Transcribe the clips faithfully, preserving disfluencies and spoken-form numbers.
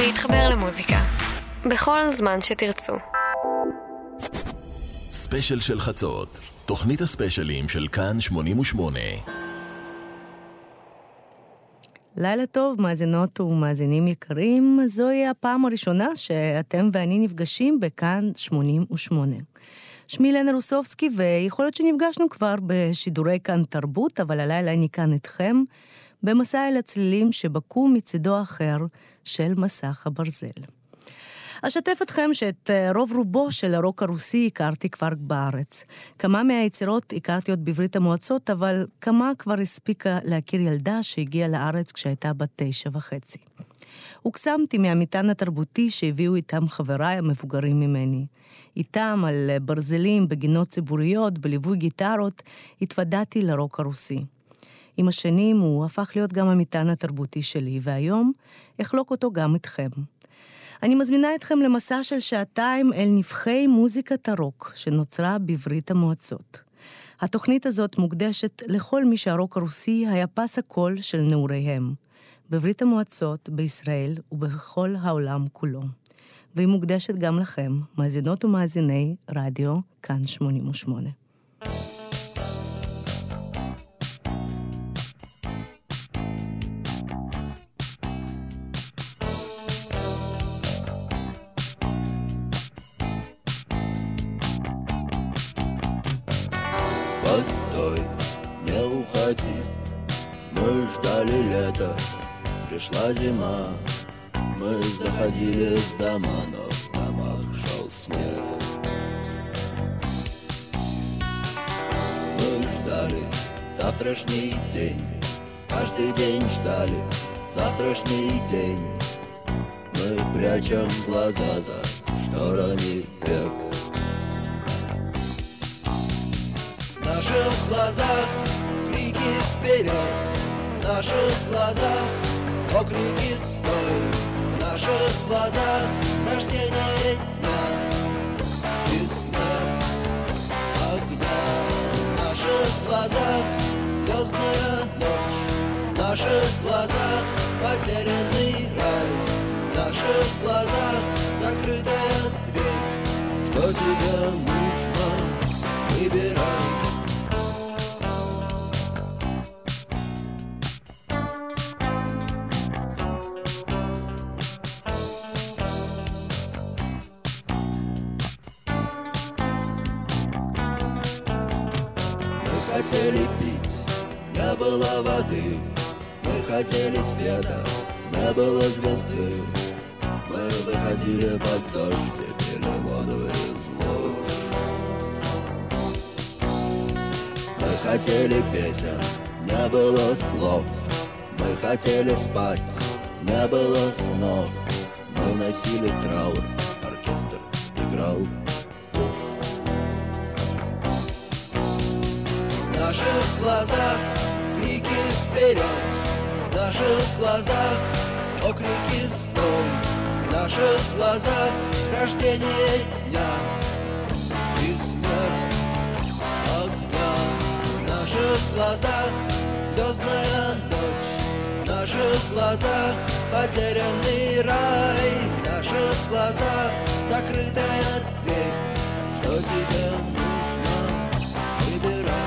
להתחבר למוזיקה בכל זמן שתרצו. ספיישל של חצות, תוכנית הספיישלים של כאן שמונים ושמונה. לילה טוב, מאזינות ומאזינים יקרים. זוהי הפעם הראשונה שאתם ואני נפגשים בכאן שמונים ושמונה. שמי לנה רוסובסקי, ויכול להיות שנפגשנו כבר בשידורי כאן תרבות, אבל הלילה אני כאן איתכם במסע אל הצלילים שבקו מצידו האחר של מסך הברזל. אשתף אתכם שאת רוב רובו של הרוק הרוסי הכרתי כבר בארץ. כמה מהיצירות הכרתי עוד בברית המועצות, אבל כמה כבר הספיקה להכיר ילדה שהגיעה לארץ כשהייתה בת תשע וחצי. הוקסמתי מהמטען התרבותי שהביאו איתם חבריי המבוגרים ממני. איתם על ברזלים, בגינות ציבוריות, בליווי גיטרות, התוודעתי לרוק הרוסי. עם השנים הוא הפך להיות גם המטען התרבותי שלי, והיום אחלוק אותו גם איתכם. אני מזמינה אתכם למסע של שעתיים אל נבחי מוזיקת הרוק שנוצרה בברית המועצות. התוכנית הזאת מוקדשת לכל מי שהרוק הרוסי היה פס הקול של נעוריהם, בברית המועצות, בישראל ובכל העולם כולו. והיא מוקדשת גם לכם, מאזינות ומאזיני רדיו כאן שמונים ושמונה. Постой, не уходи, мы ждали лета, пришла зима, мы заходили в дома, но в домах шел снег. Мы ждали завтрашний день, каждый день ждали завтрашний день. Мы прячем глаза за шторами век. В наших глазах крики вперед, в наших глазах окрики стой, в наших глазах рождение дня и смерть огня. В наших глазах звездная ночь, в наших глазах потерянный рай, в наших глазах закрытая дверь. Что тебе нужно, выбирай. Хотели пить, не было воды, мы хотели света, не было звезды. Мы выходили под дождь и пили воду из луж. Мы хотели песен, не было слов. Мы хотели спать, не было снов. Мы носили траур, оркестр играл. В наших глазах крики вперед, в наших глазах окрики стой, в наших глазах рождение дня и смерть огня. В наших глазах звездная ночь, в наших глазах потерянный рай, в наших глазах закрытая дверь. Что тебе нужно, выбирай.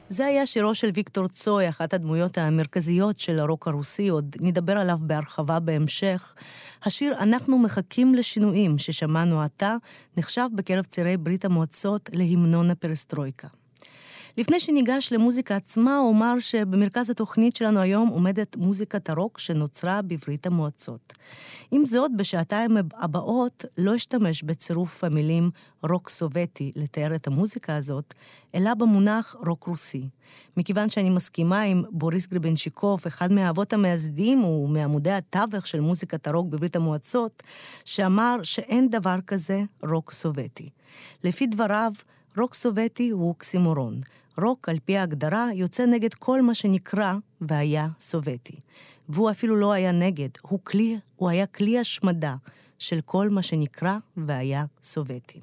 זה היה שירו של ויקטור צוי, אחת הדמויות המרכזיות של הרוק הרוסי, עוד נדבר עליו בהרחבה בהמשך. השיר "אנחנו מחכים לשינויים" ששמענו עתה, נחשב בקרב צעירי ברית המועצות להמנון הפרסטרויקה. לפני שניגש למוזיקה עצמה, אומר שבמרכז התוכנית שלנו היום עומדת מוזיקת הרוק שנוצרה בברית המועצות. עם זאת, בשעתיים הבאות לא אשתמש בצירוף המילים רוק סובייטי לתאר את המוזיקה הזאת, אלא במונח רוק רוסי. מכיוון שאני מסכימה עם בוריס גרבנצ'יקוב, אחד מהאבות המייסדים ומעמודי התווך של מוזיקת הרוק בברית המועצות, שאמר שאין דבר כזה רוק סובייטי. לפי דבריו, רוק סובייטי הוא אוקסימורון. רוק, על פי ההגדרה, יוצא נגד כל מה שנקרא והיה סובייטי. והוא אפילו לא היה נגד, הוא, כלי, הוא היה כלי השמדה של כל מה שנקרא והיה סובייטי.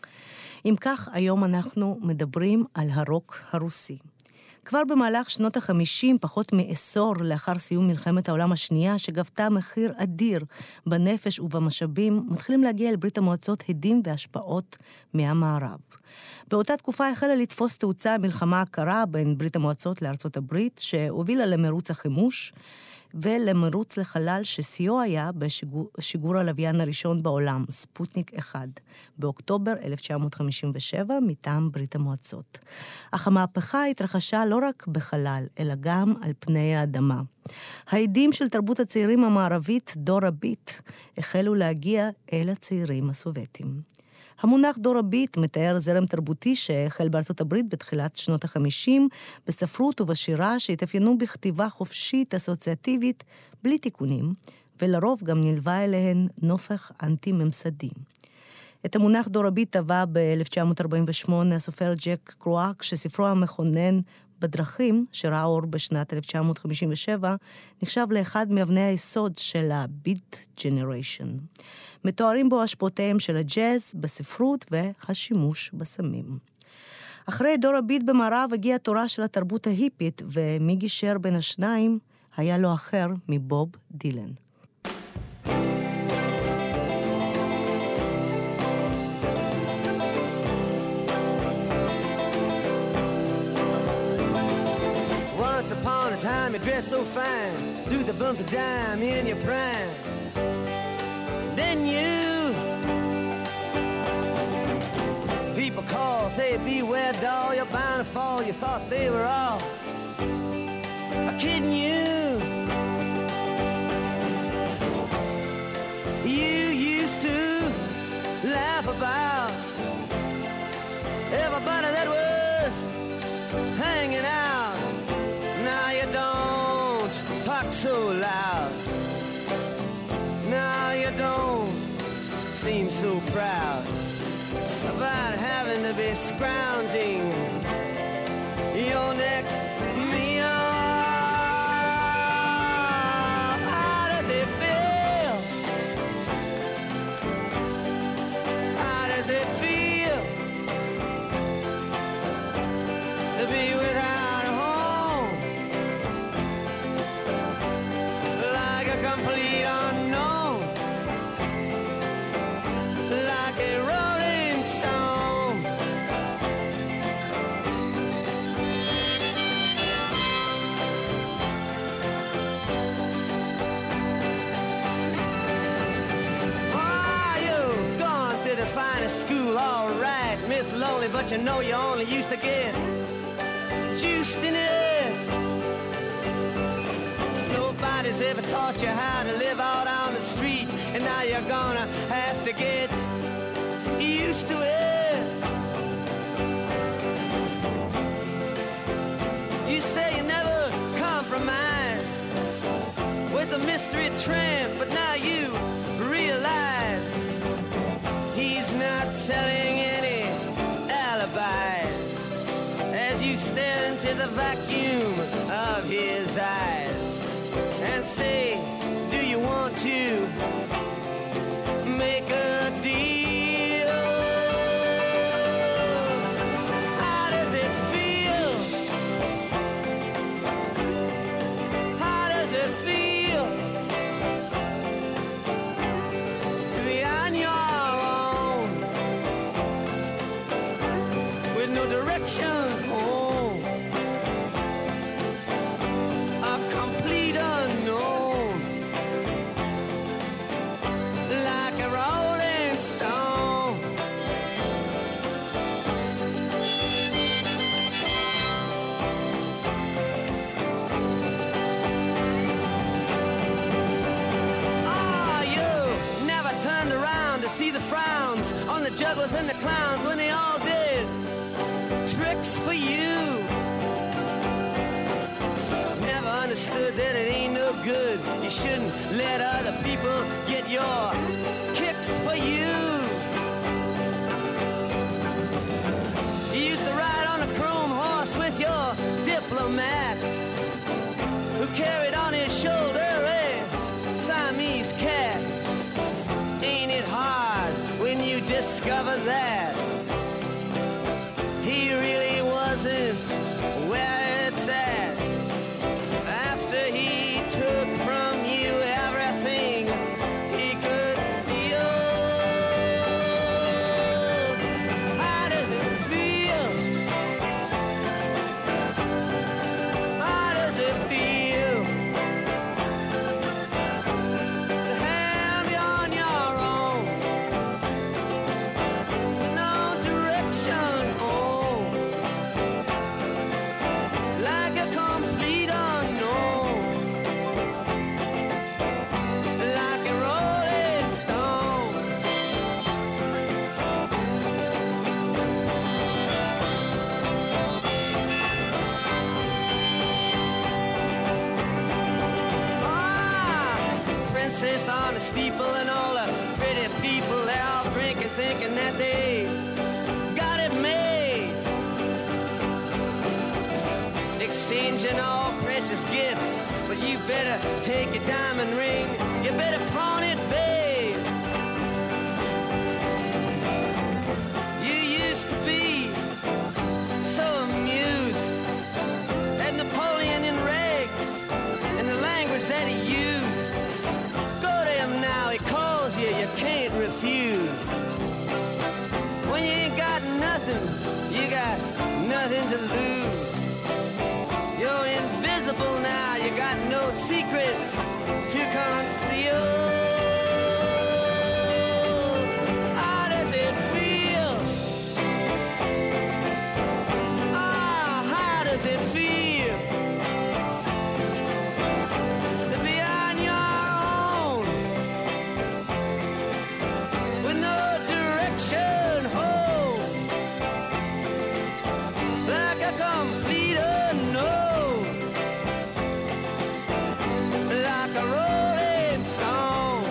אם כך, היום אנחנו מדברים על הרוק הרוסי. כבר במהלך שנות החמישים, פחות מעשור לאחר סיום מלחמת העולם השנייה, שגבתה מחיר אדיר בנפש ובמשאבים, מתחילים להגיע אל ברית המועצות הדים והשפעות מהמערב. באותה תקופה החלה לתפוס תאוצה המלחמה הקרה בין ברית המועצות לארצות הברית, שהובילה למרוץ החימוש, ולמרוץ לחלל ששיאו היה בשיגור הלוויין הראשון בעולם, ספוטניק אחד, באוקטובר אלף תשע מאות חמישים ושבע, מטעם ברית המועצות. אך המהפכה התרחשה לא רק בחלל, אלא גם על פני האדמה. העדים של תרבות הצעירים המערבית, דור הביט, החלו להגיע אל הצעירים הסובייטים. המונח דור הביט מתאר זרם תרבותי שהחל בארצות הברית בתחילת שנות החמישים, בספרות ובשירה שהתאפיינו בכתיבה חופשית אסוציאטיבית בלי תיקונים, ולרוב גם נלווה אליהן נופך אנטי-ממסדי. את המונח דור הביט טבע ב-אלף תשע מאות ארבעים ושמונה הסופר ג'ק קרואק, שספרו המכונן בדרכים, שראה אור בשנת אלף תשע מאות חמישים ושבע, נחשב לאחד מאבני היסוד של הביט ג'נריישן. מתוארים בו השפעותיהם של הג'אז בספרות והשימוש בסמים. אחרי דור הביט במערב הגיעה תורה של התרבות ההיפית, ומי גישר בין השניים היה לו אחר מבוב דילן. Once upon a time you dressed so fine, threw the bumps of dime in your prime. Then you people call, say beware doll, you're bound to fall. You thought they were all kidding you. You used to laugh about everybody that was hanging out. Now you don't talk so loud. Now you don't seem so proud about having to be scrounging your next meal. How does it feel? How does it feel to be without a home? Like a complete unknown. Like a rolling stone. Oh, you've gone to the finest school, all right, Miss Lonely, but you know you only used to get juiced in it. Nobody's ever taught you how to live out on the street, and now you're gonna have to get used to it. You say you never compromise with a mystery tramp, but now you realize he's not selling any alibis as you stare into the vacuum of his eyes and say, do you want to make a deal? How does it feel? How does it feel to be on your own with no direction home? to see the frowns on the jugglers and the clowns when they all did tricks for you. Never understood that it ain't no good. You shouldn't let other people get your kicks for you. You used to ride on a chrome horse with your diplomat, who carried on his shoulder a Siamese cat. Ain't it hard when you discover that he really wasn't where it's at? After he took from you everything he could steal. How does it feel? How does it feel to have you on your own, with no direction home, like a complete unknown, like a rolling stone? Ah, princess on the steeple and all the pretty people, they're all drinking, thinking that they got it made, exchanging all precious gifts. But you better take your diamond ring, you better pawn it, babe. You used to be so amused at Napoleon in rags and the language that he used. Go to him now, he calls you, you can't refuse. When you ain't got nothing, you got nothing to lose. You're invisible now, you got no secrets to conceal. How does it feel? Ah, how does it feel to be on your own, with no direction home, like a complete unknown, like a rolling stone?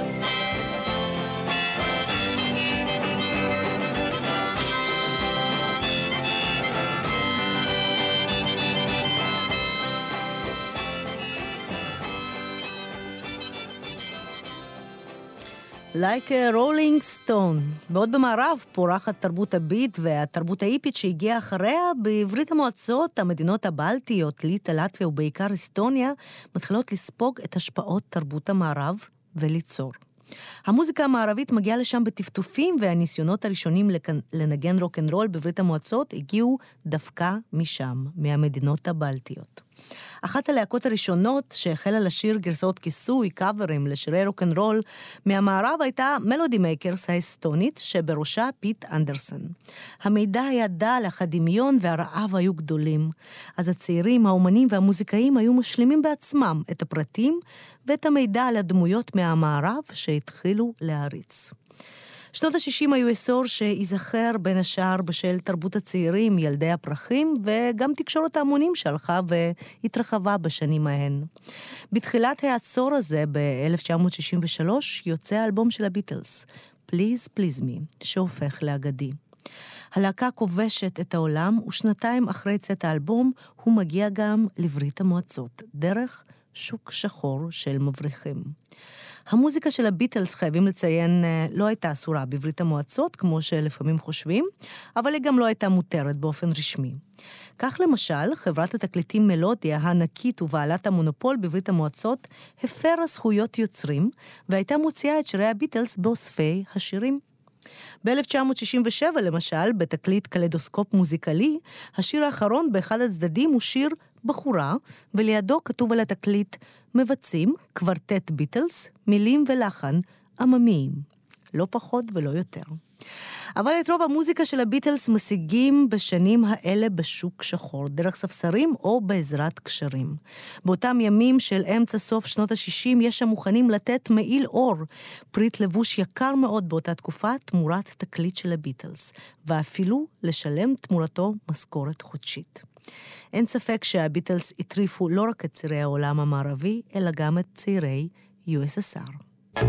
Like a Rolling Stone. בעוד במערב פורחת תרבות הביט והתרבות האיפית שהגיעה אחריה. בעברית המועצות, המדינות הבלטיות, ליטא, לטביה ובעיקר אסטוניה, מתחילות לספוג את השפעות תרבות המערב וליצור. המוזיקה המערבית מגיעה לשם בטפטופים, והניסיונות הראשונים לנגן רוק'נ'רול בברית המועצות הגיעו דווקא משם, מהמדינות הבלטיות. אחת הלהקות הראשונות שהחלה לשיר גרסאות כיסוי, קאברים לשירי רוק'נ'רול מהמערב הייתה מלודי מייקרס האסטונית, שבראשה פיט אנדרסון. המידע היה דל, אך הדמיון והרעב היו גדולים. אז הצעירים, האומנים והמוזיקאים היו משלימים בעצמם את הפרטים ואת המידע על הדמויות מהמערב שהתחילו להריץ. שנות ה-שישים היו עשור שיזכר בין השאר בשל תרבות הצעירים, ילדי הפרחים, וגם תקשורת ההמונים שהלכה והתרחבה בשנים ההן. בתחילת העשור הזה, ב-אלף תשע מאות שישים ושלוש, יוצא האלבום של הביטלס, Please Please Me, שהופך לאגדי. הלהקה כובשת את העולם, ושנתיים אחרי צאת האלבום, הוא מגיע גם לברית המועצות, דרך שוק שחור של מבריחים. המוזיקה של הביטלס, חייבים לציין, לא הייתה אסורה בברית המועצות, כמו שלפעמים חושבים, אבל היא גם לא הייתה מותרת באופן רשמי. כך למשל, חברת התקליטים מלודיה, הענקית ובעלת המונופול בברית המועצות, הפרה זכויות יוצרים, והייתה מוציאה את שירי הביטלס באוספי השירים. ב-אלף תשע מאות שישים ושבע, למשל, בתקליט קלדוסקופ מוזיקלי, השיר האחרון באחד הצדדים הוא שיר בחורה, ולידו כתוב על התקליט, מבצעים קוורטט ביטלס, מילים ולחן עממיים. לא פחות ולא יותר. אבל את רוב המוזיקה של הביטלס משיגים בשנים האלה בשוק שחור, דרך ספסרים או בעזרת קשרים. באותם ימים של אמצע סוף שנות ה-שישים יש המוכנים לתת מעיל אור, פריט לבוש יקר מאוד באותה תקופה, תמורת תקליט של הביטלס, ואפילו לשלם תמורתו משכורת חודשית. אין ספק שהביטלס הטריפו לא רק את צעירי העולם המערבי, אלא גם את צעירי יו אס אס אר.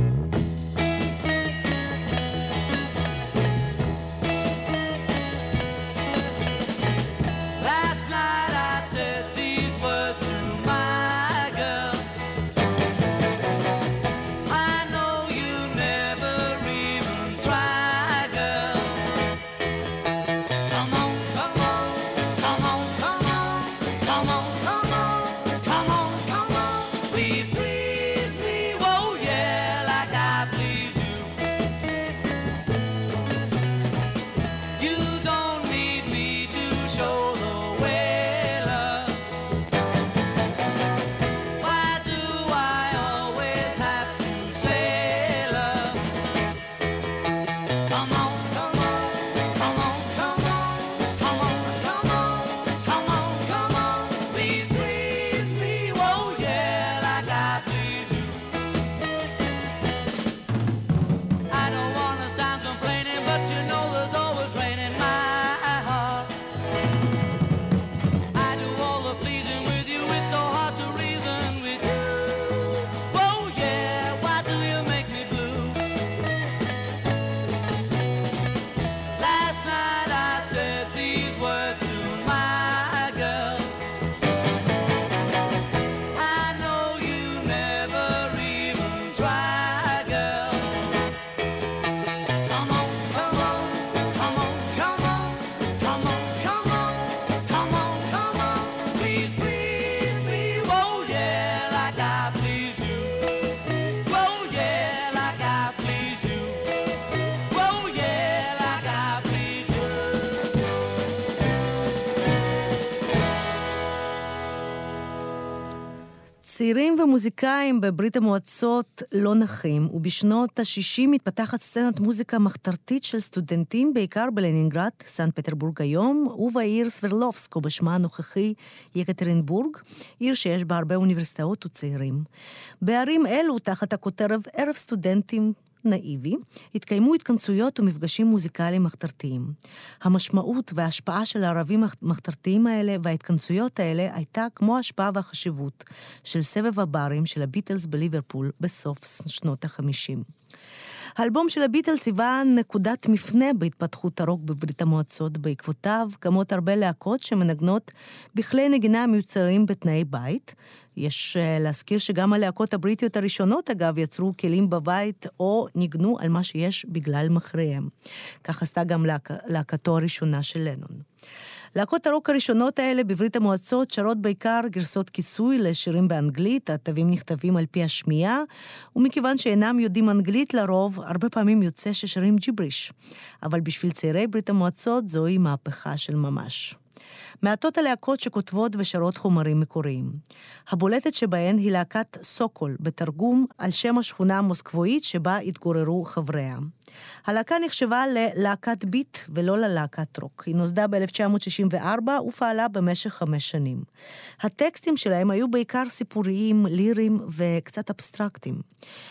צעירים ומוזיקאים בברית המועצות לא נחים, ובשנות ה-שישים מתפתחת סצנת מוזיקה מחתרתית של סטודנטים, בעיקר בלנינגרד, סנט פטרבורג היום, ובעיר סברלובסק, או בשמה הנוכחי יקטרינבורג, עיר שיש בה הרבה אוניברסיטאות וצעירים. בערים אלו, תחת הכותרת ערב סטודנטים נאיבי, התקיימו התכנסויות ומפגשים מוזיקליים מחתרתיים. המשמעות וההשפעה של הערבים המחתרתיים האלה וההתכנסויות האלה הייתה כמו ההשפעה והחשיבות של סבב הברים של הביטלס בליברפול בסוף שנות ה-חמישים. האלבום של הביטלס היווה נקודת מפנה בהתפתחות הרוק בברית המועצות. בעקבותיו קמות הרבה להקות שמנגנות בכלי נגינה מיוצרים בתנאי בית. יש להזכיר שגם הלהקות הבריטיות הראשונות, אגב, יצרו כלים בבית או ניגנו על מה שיש בגלל מחריהם. כך עשתה גם להק... להקתו הראשונה של לנון. להקות הרוק הראשונות האלה בברית המועצות שרות בעיקר גרסות כיסוי לשירים באנגלית, התווים נכתבים על פי השמיעה, ומכיוון שאינם יודעים אנגלית לרוב, הרבה פעמים יוצא ששרים ג'יבריש. אבל בשביל צעירי ברית המועצות זוהי מהפכה של ממש. מעטות הלהקות שכותבות ושרות חומרים מקוריים. הבולטת שבהן היא להקת סוקול, בתרגום על שם השכונה המוסקבואית שבה התגוררו חבריה. הלהקה נחשבה ללהקת ביט ולא ללהקת רוק. היא נוסדה ב-אלף תשע מאות שישים וארבע ופעלה במשך חמש שנים. הטקסטים שלהם היו בעיקר סיפוריים, ליריים וקצת אבסטרקטיים.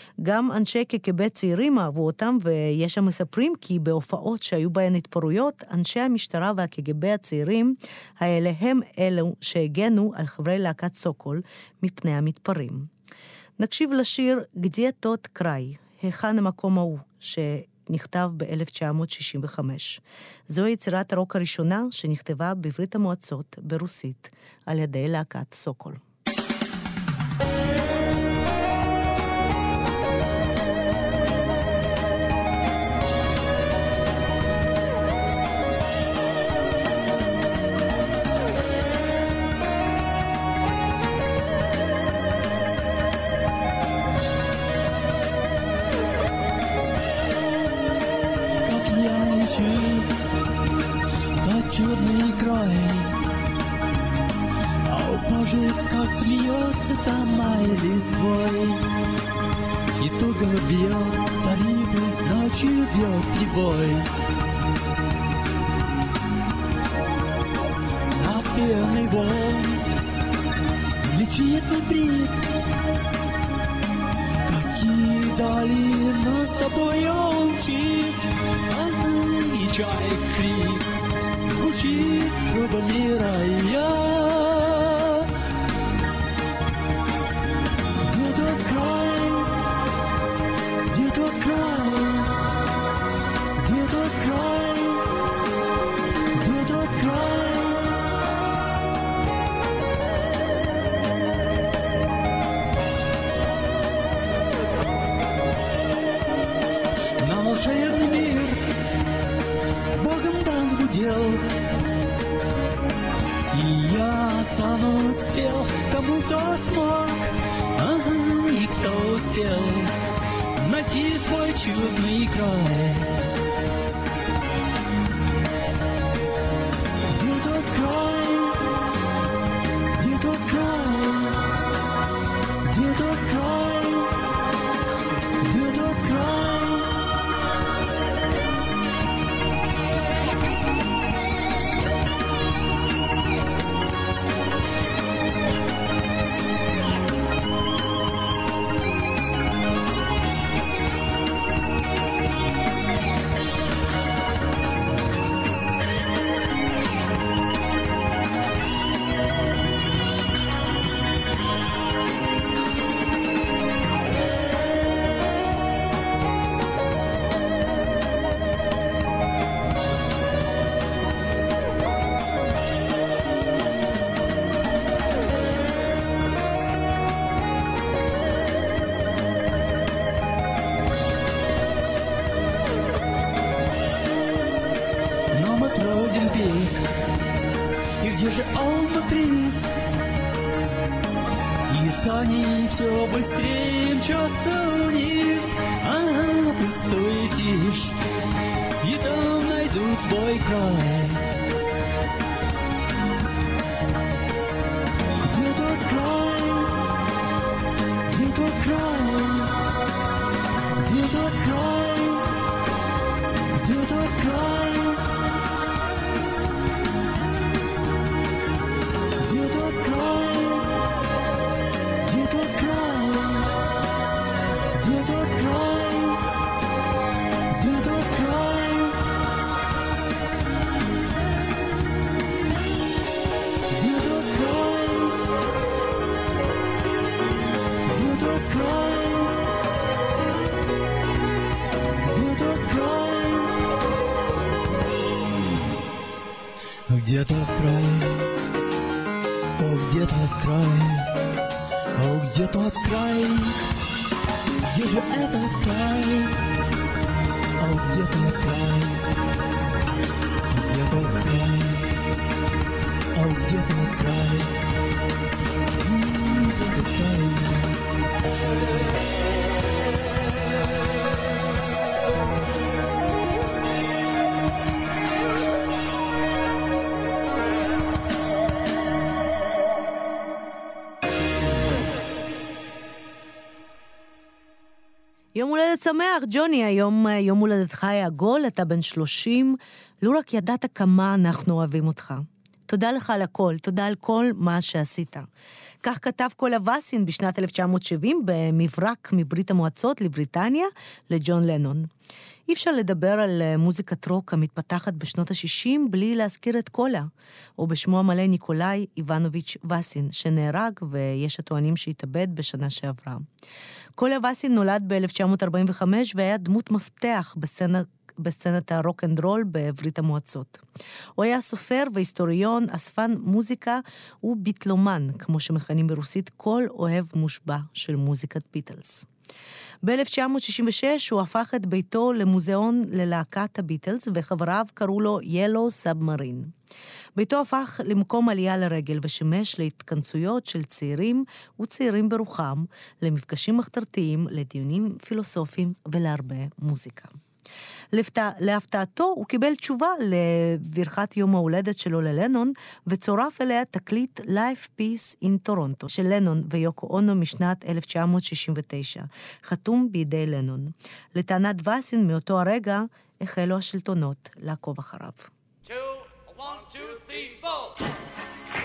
גם אנשי קג"ב צעירים אהבו אותם, ויש שם מספרים כי בהופעות שהיו בהן התפרעויות, אנשי המשטרה והקג"ב הצעירים האלה הם אלו שהגנו על חברי להקת סוקול מפני המתפרעים. נקשיב לשיר גדיה תות קראי, היכן המקום ההוא, שנכתב ב-אלף תשע מאות שישים וחמש. זו יצירת הרוק הראשונה שנכתבה בברית המועצות ברוסית על ידי להקת סוקול. Черный край, а упажи, как смеется там май листвой. И то голубье, парит, ночью бьет прибой. пеной волн летит на бриз. Какие дали нас с тобой мчит, и чаек крик звучит трубами рая. Где тот край, где тот край, где тот край, где тот край? На волшебный мир Богом дан гудел, и я сам успел, кому-то смог, ага, и кто успел найти свой чудный край. Где тот край, где тот край, где тот край, где тот край? Сани все быстрее мчатся вниз, ага, пустой тишь, и там найду свой край. Где тот край, где тот край, где тот край, где тот край, где тот край? Где тот край? Где тот край? Где тот край? Где тот край? Где тот край? Где тот край? Где тот край? О, где тот край? О, где тот край? Где же этот край? О, где тот край? Где тот край? О, где тот край? М-м, где тот край? יום הולדת שמח, ג'וני, היום יום הולדתך היה עגול, אתה בן שלושים, לא רק ידעת כמה אנחנו אוהבים אותך. תודה לך על הכל, תודה על כל מה שעשית. כך כתב קולה וסין בשנת אלף תשע מאות שבעים במברק מברית המועצות לבריטניה לג'ון לנון. אי אפשר לדבר על מוזיקת רוק המתפתחת בשנות ה-שישים בלי להזכיר את קולה, או בשמו המלא ניקולאי איבנוביץ' וסין, שנהרג ויש הטוענים שהתאבד בשנה שעברה. קולה וסין נולד ב-אלף תשע מאות ארבעים וחמש והיה דמות מפתח בסצנה, בסצנת הרוק אנד רול בברית המועצות. הוא היה סופר והיסטוריון, אספן מוזיקה וביטלומן, כמו שמכנים ברוסית כל אוהב מושבע של מוזיקת ביטלס. ב-אלף תשע מאות שישים ושש הוא הפך את ביתו למוזיאון ללהקת הביטלס, וחבריו קראו לו ילו סאבמרין. ביתו הפך למקום עלייה לרגל ושמש להתכנסויות של צעירים וצעירים ברוחם, למפגשים מחתרתיים, לדיונים פילוסופיים ולהרבה מוזיקה. להפתעתו הוא קיבל תשובה לברכת יום ההולדת שלו ללנון, וצורף אליה תקליט Life Peace in Toronto של לנון ויוקו אונו משנת אלף תשע מאות שישים ותשע, חתום בידי לנון. לטענת וסין מאותו הרגע החלו השלטונות לעקוב אחריו. Two, one, two, three, four.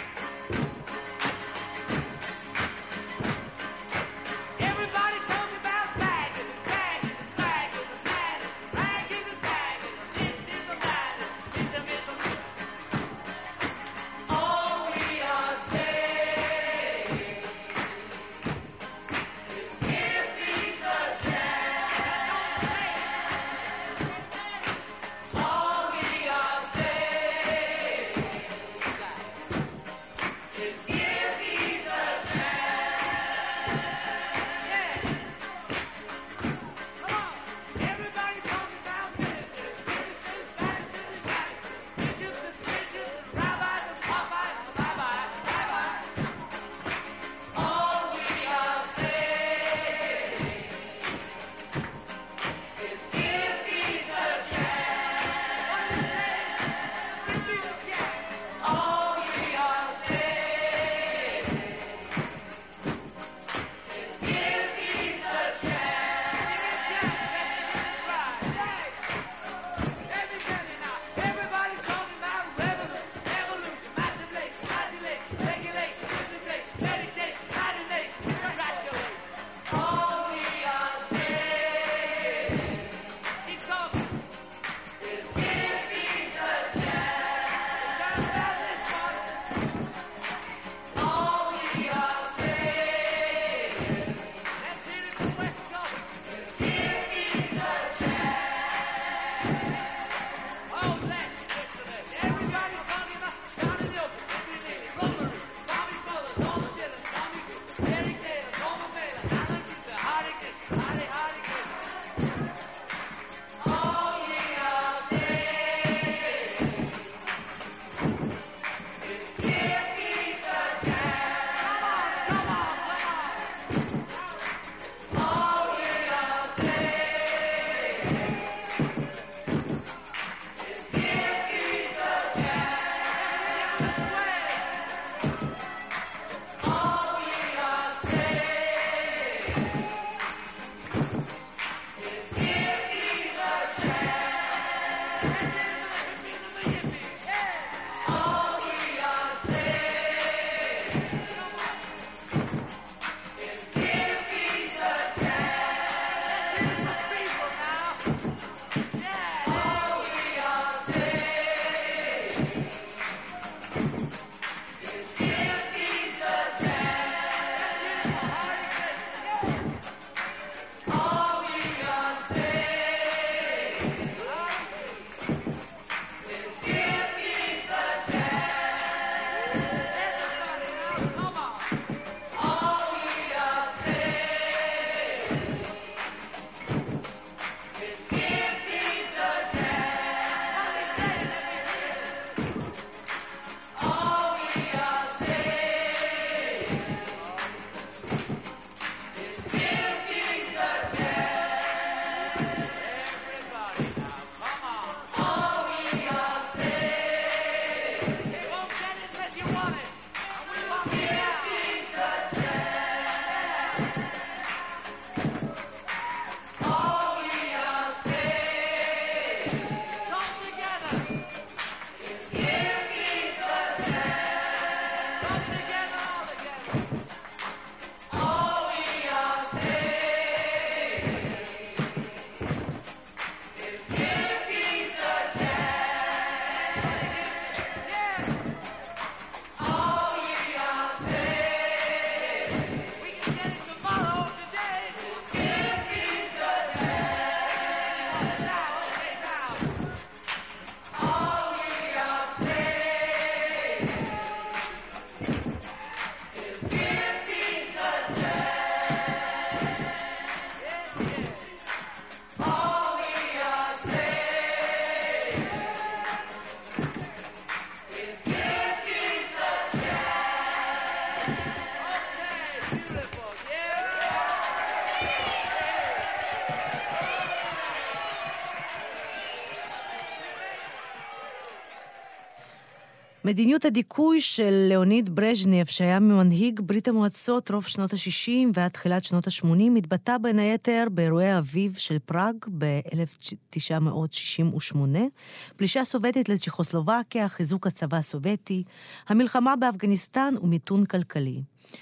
מדיניות הדיכוי של ליאוניד ברז'נייב, שהיה מנהיג ברית המועצות רוב שנות ה-שישים ועד תחילת שנות ה-שמונים, התבטא בין היתר באירועי האביב של פראג ב-אלף תשע מאות שישים ושמונה, פלישה סובייטית לצ'כוסלובקיה, חיזוק הצבא הסובייטי, המלחמה באפגניסטן ומיתון כלכלי,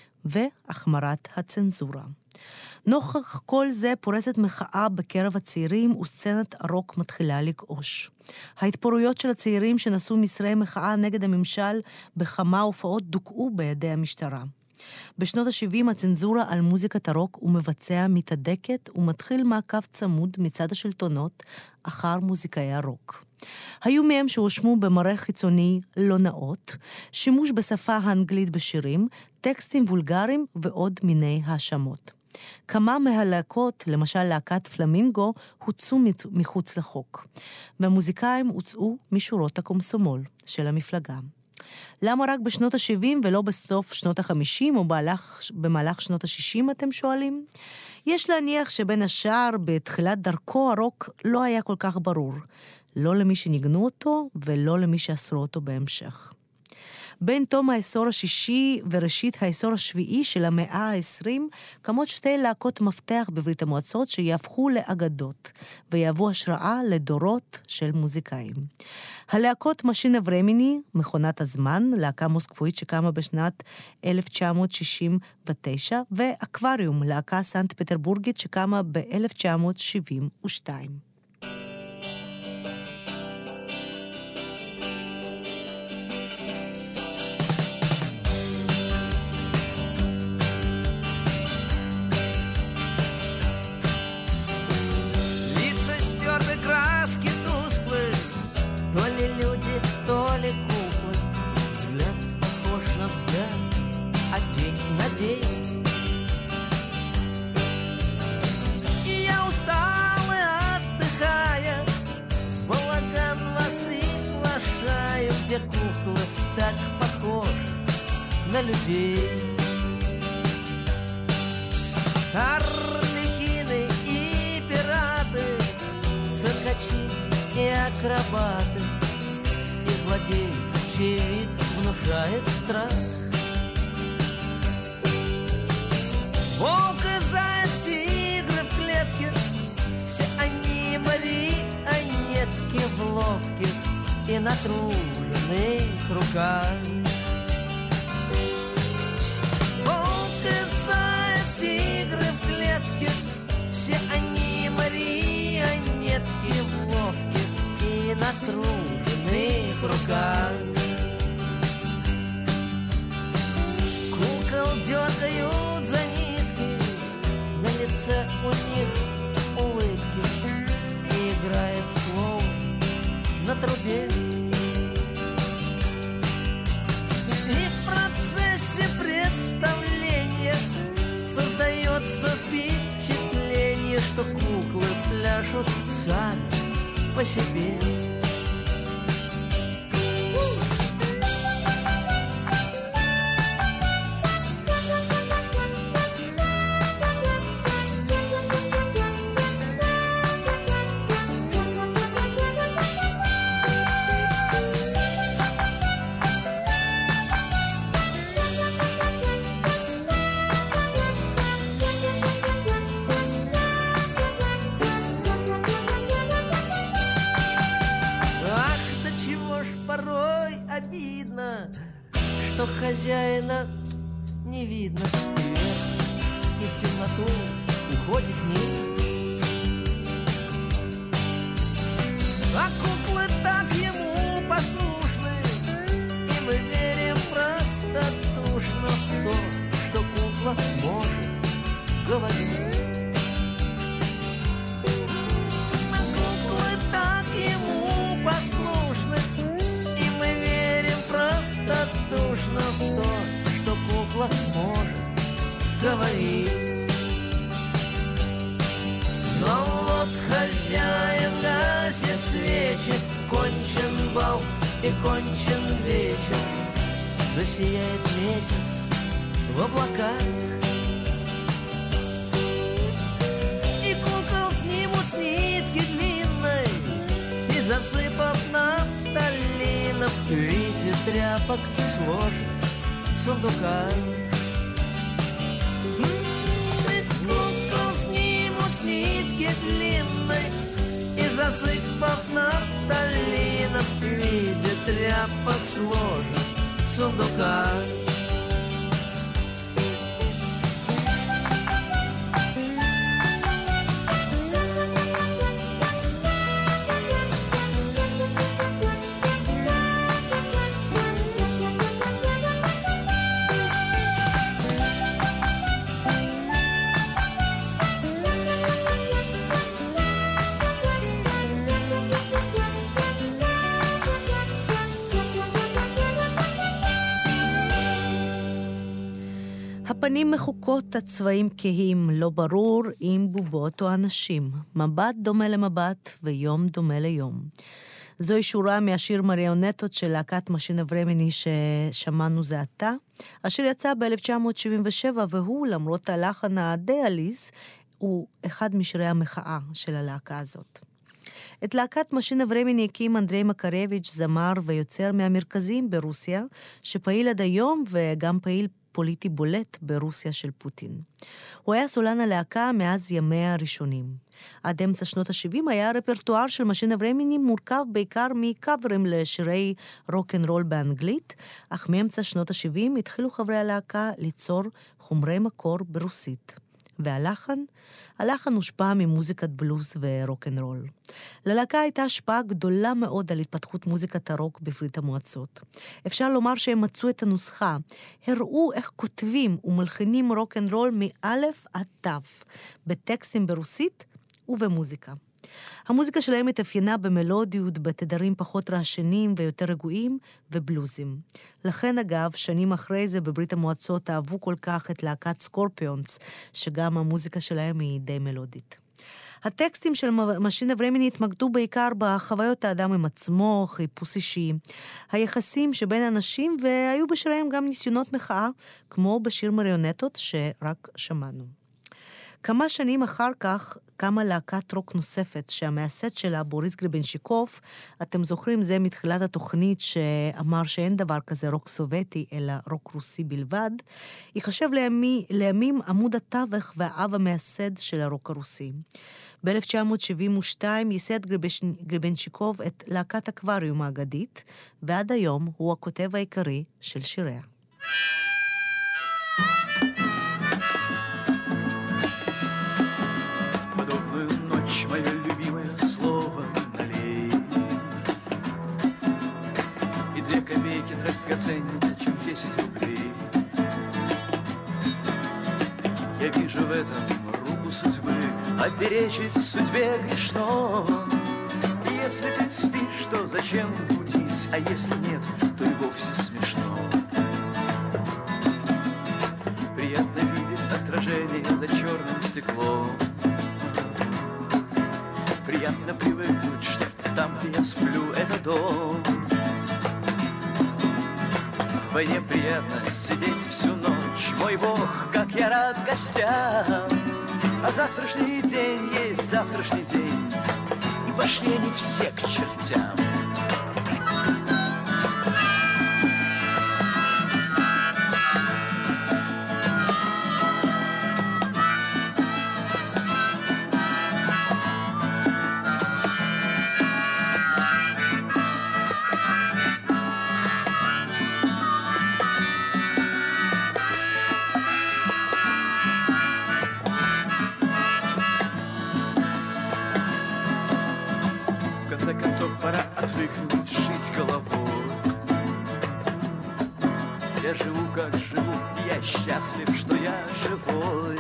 והחמרת הצנזורה. נוכח כל זה פורצת מחאה בקרב הצעירים וסצנת הרוק מתחילה לגעוש. ההתפוררויות של הצעירים שנשאו מסרי מחאה נגד הממשל בכמה הופעות דוכאו בידי המשטרה. בשנות ה-שבעים הצנזורה על מוזיקת הרוק ומבצע מתהדקת ומתחיל מעקב צמוד מצד השלטונות אחר מוזיקאי הרוק. היו מהם שהושמו במראה חיצוני לא נאות, שימוש בשפה האנגלית בשירים, טקסטים וולגריים ועוד מיני האשמות. כמה מהלהקות, למשל להקת פלמינגו, הוצאו מחוץ לחוק, והמוזיקאים הוצאו משורות הקומסומול של המפלגה. למה רק בשנות ה-שבעים ולא בסוף שנות ה-חמישים או במהלך, במהלך שנות ה-שישים, אתם שואלים? יש להניח שבין השאר בתחילת דרכו הרוק לא היה כל כך ברור, לא למי שניגנו אותו ולא למי שאסרו אותו בהמשך. בין תום העשור השישי וראשית העשור השביעי של המאה העשרים, קמות שתי להקות מפתח בברית המועצות שיהפכו לאגדות, ויהוו השראה לדורות של מוזיקאים. הלהקות משינה ורמיני, מכונת הזמן, להקה מוסקבואית שקמה בשנת אלף תשע מאות שישים ותשע, ואקווריום, להקה סנט פטרבורגית שקמה ב-אלף תשע מאות שבעים ושתיים. Куклы так похожи на людей. Арлекины и пираты, циркачи и акробаты, и злодей, чей вид внушает страх. Волк и заяц, тигры в клетке, все они марионетки. монетки в ловких и натруженных руках. Волк и заяц, тигры в клетке, все они марионетки в ловких и натруженных руках. Кукол дергают за нитки, на лице у них улыбки, и играет клоун на трубе. И в процессе представления создается впечатление, что куклы пляшут сами по себе. Что хозяина не видно, и в темноту уходит нить. А куклы так ему послушны, и мы верим простодушно в то, что кукла может говорить. А куклы так ему послушны, и мы верим простодушно в то, что кукла может говорить. Но вот хозяин гасит свечи, кончен бал и кончен вечер, засияет месяц в облаках, и кукол снимут с нитки длинной и, засыпав нафталином, в виде тряпок сложит в сундуках. И кукол снимут с нитки длинной и, засыпав нафталином, в виде тряпок сложит в сундуках. הפנים מחוקות, הצבעים כהים, לא ברור אם בובות או אנשים. מבט דומה למבט ויום דומה ליום. זוהי שורה מהשיר מריונטות של להקת משין אברמיני ששמענו זה עתה, אשר יצא ב-אלף תשע מאות שבעים ושבע, והוא, למרות הלחן הדי עליז, הוא אחד משירי המחאה של הלהקה הזאת. את להקת משין אברמיני הקים אנדרי מקרביץ', זמר ויוצר מהמרכזים ברוסיה, שפעיל עד היום וגם פעיל פוליטי בולט ברוסיה של פוטין. הוא היה סולן הלהקה מאז ימיה הראשונים. עד אמצע שנות ה-שבעים היה הרפרטואר של משין אברמיני מורכב בעיקר מקאברים לשירי רוק-אנד-רול באנגלית, אך מאמצע שנות ה-שבעים התחילו חברי הלהקה ליצור חומרי מקור ברוסית. והלחן? הלחן הושפע ממוזיקת בלוז ורוק-אנד-רול. ללהקה הייתה השפעה גדולה מאוד על התפתחות מוזיקת הרוק בברית המועצות. אפשר לומר שהם מצאו את הנוסחה, הראו איך כותבים ומלחינים רוק-אנד-רול מאלף עד תף, בטקסטים ברוסית ובמוזיקה. המוזיקה שלהם התאפיינה במלודיות, בתדרים פחות רעשנים ויותר רגועים ובלוזים. לכן אגב, שנים אחרי זה בברית המועצות אהבו כל כך את להקת סקורפיונס, שגם המוזיקה שלהם היא די מלודית. הטקסטים של משין אברמיני התמקדו בעיקר בחוויות האדם עם עצמו, חיפוש אישי, היחסים שבין אנשים, והיו בשיריהם גם ניסיונות מחאה, כמו בשיר מריונטות שרק שמענו. כמה שנים אחר כך קמה להקת רוק נוספת, שהמייסד שלה, בוריס גרבנצ'יקוב, אתם זוכרים, זה מתחילת התוכנית שאמר שאין דבר כזה רוק סובייטי, אלא רוק רוסי בלבד, ייחשב לימי, לימים עמוד התווך והאב המייסד של הרוק הרוסי. ב-אלף תשע מאות שבעים ושתיים ייסד גרבנצ'יקוב את להקת אקווריום האגדית, ועד היום הוא הכותב העיקרי של שיריה. Мое любимое слово налей. И две копейки драгоценнее, чем десять рублей. Я вижу в этом руку судьбы, а перечить судьбе грешно. И если ты спишь, то зачем будить, а если нет, то и вовсе смешно. Приятно видеть отражение за черным стеклом. Приятно привыкнуть, что там, где я сплю, это дом. В войне приятно сидеть всю ночь. Мой Бог, как я рад гостям. А завтрашний день есть завтрашний день, и пошли они все к чертям. Пора отвыкнуть жить головой. Я живу, как живу, я счастлив, что я живой.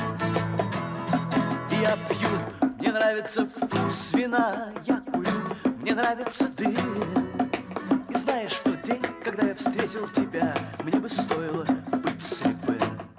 Я пью, мне нравится вкус вина, я курю, мне нравится дым. И знаешь, в тот день, когда я встретил тебя, мне бы стоило быть слепым.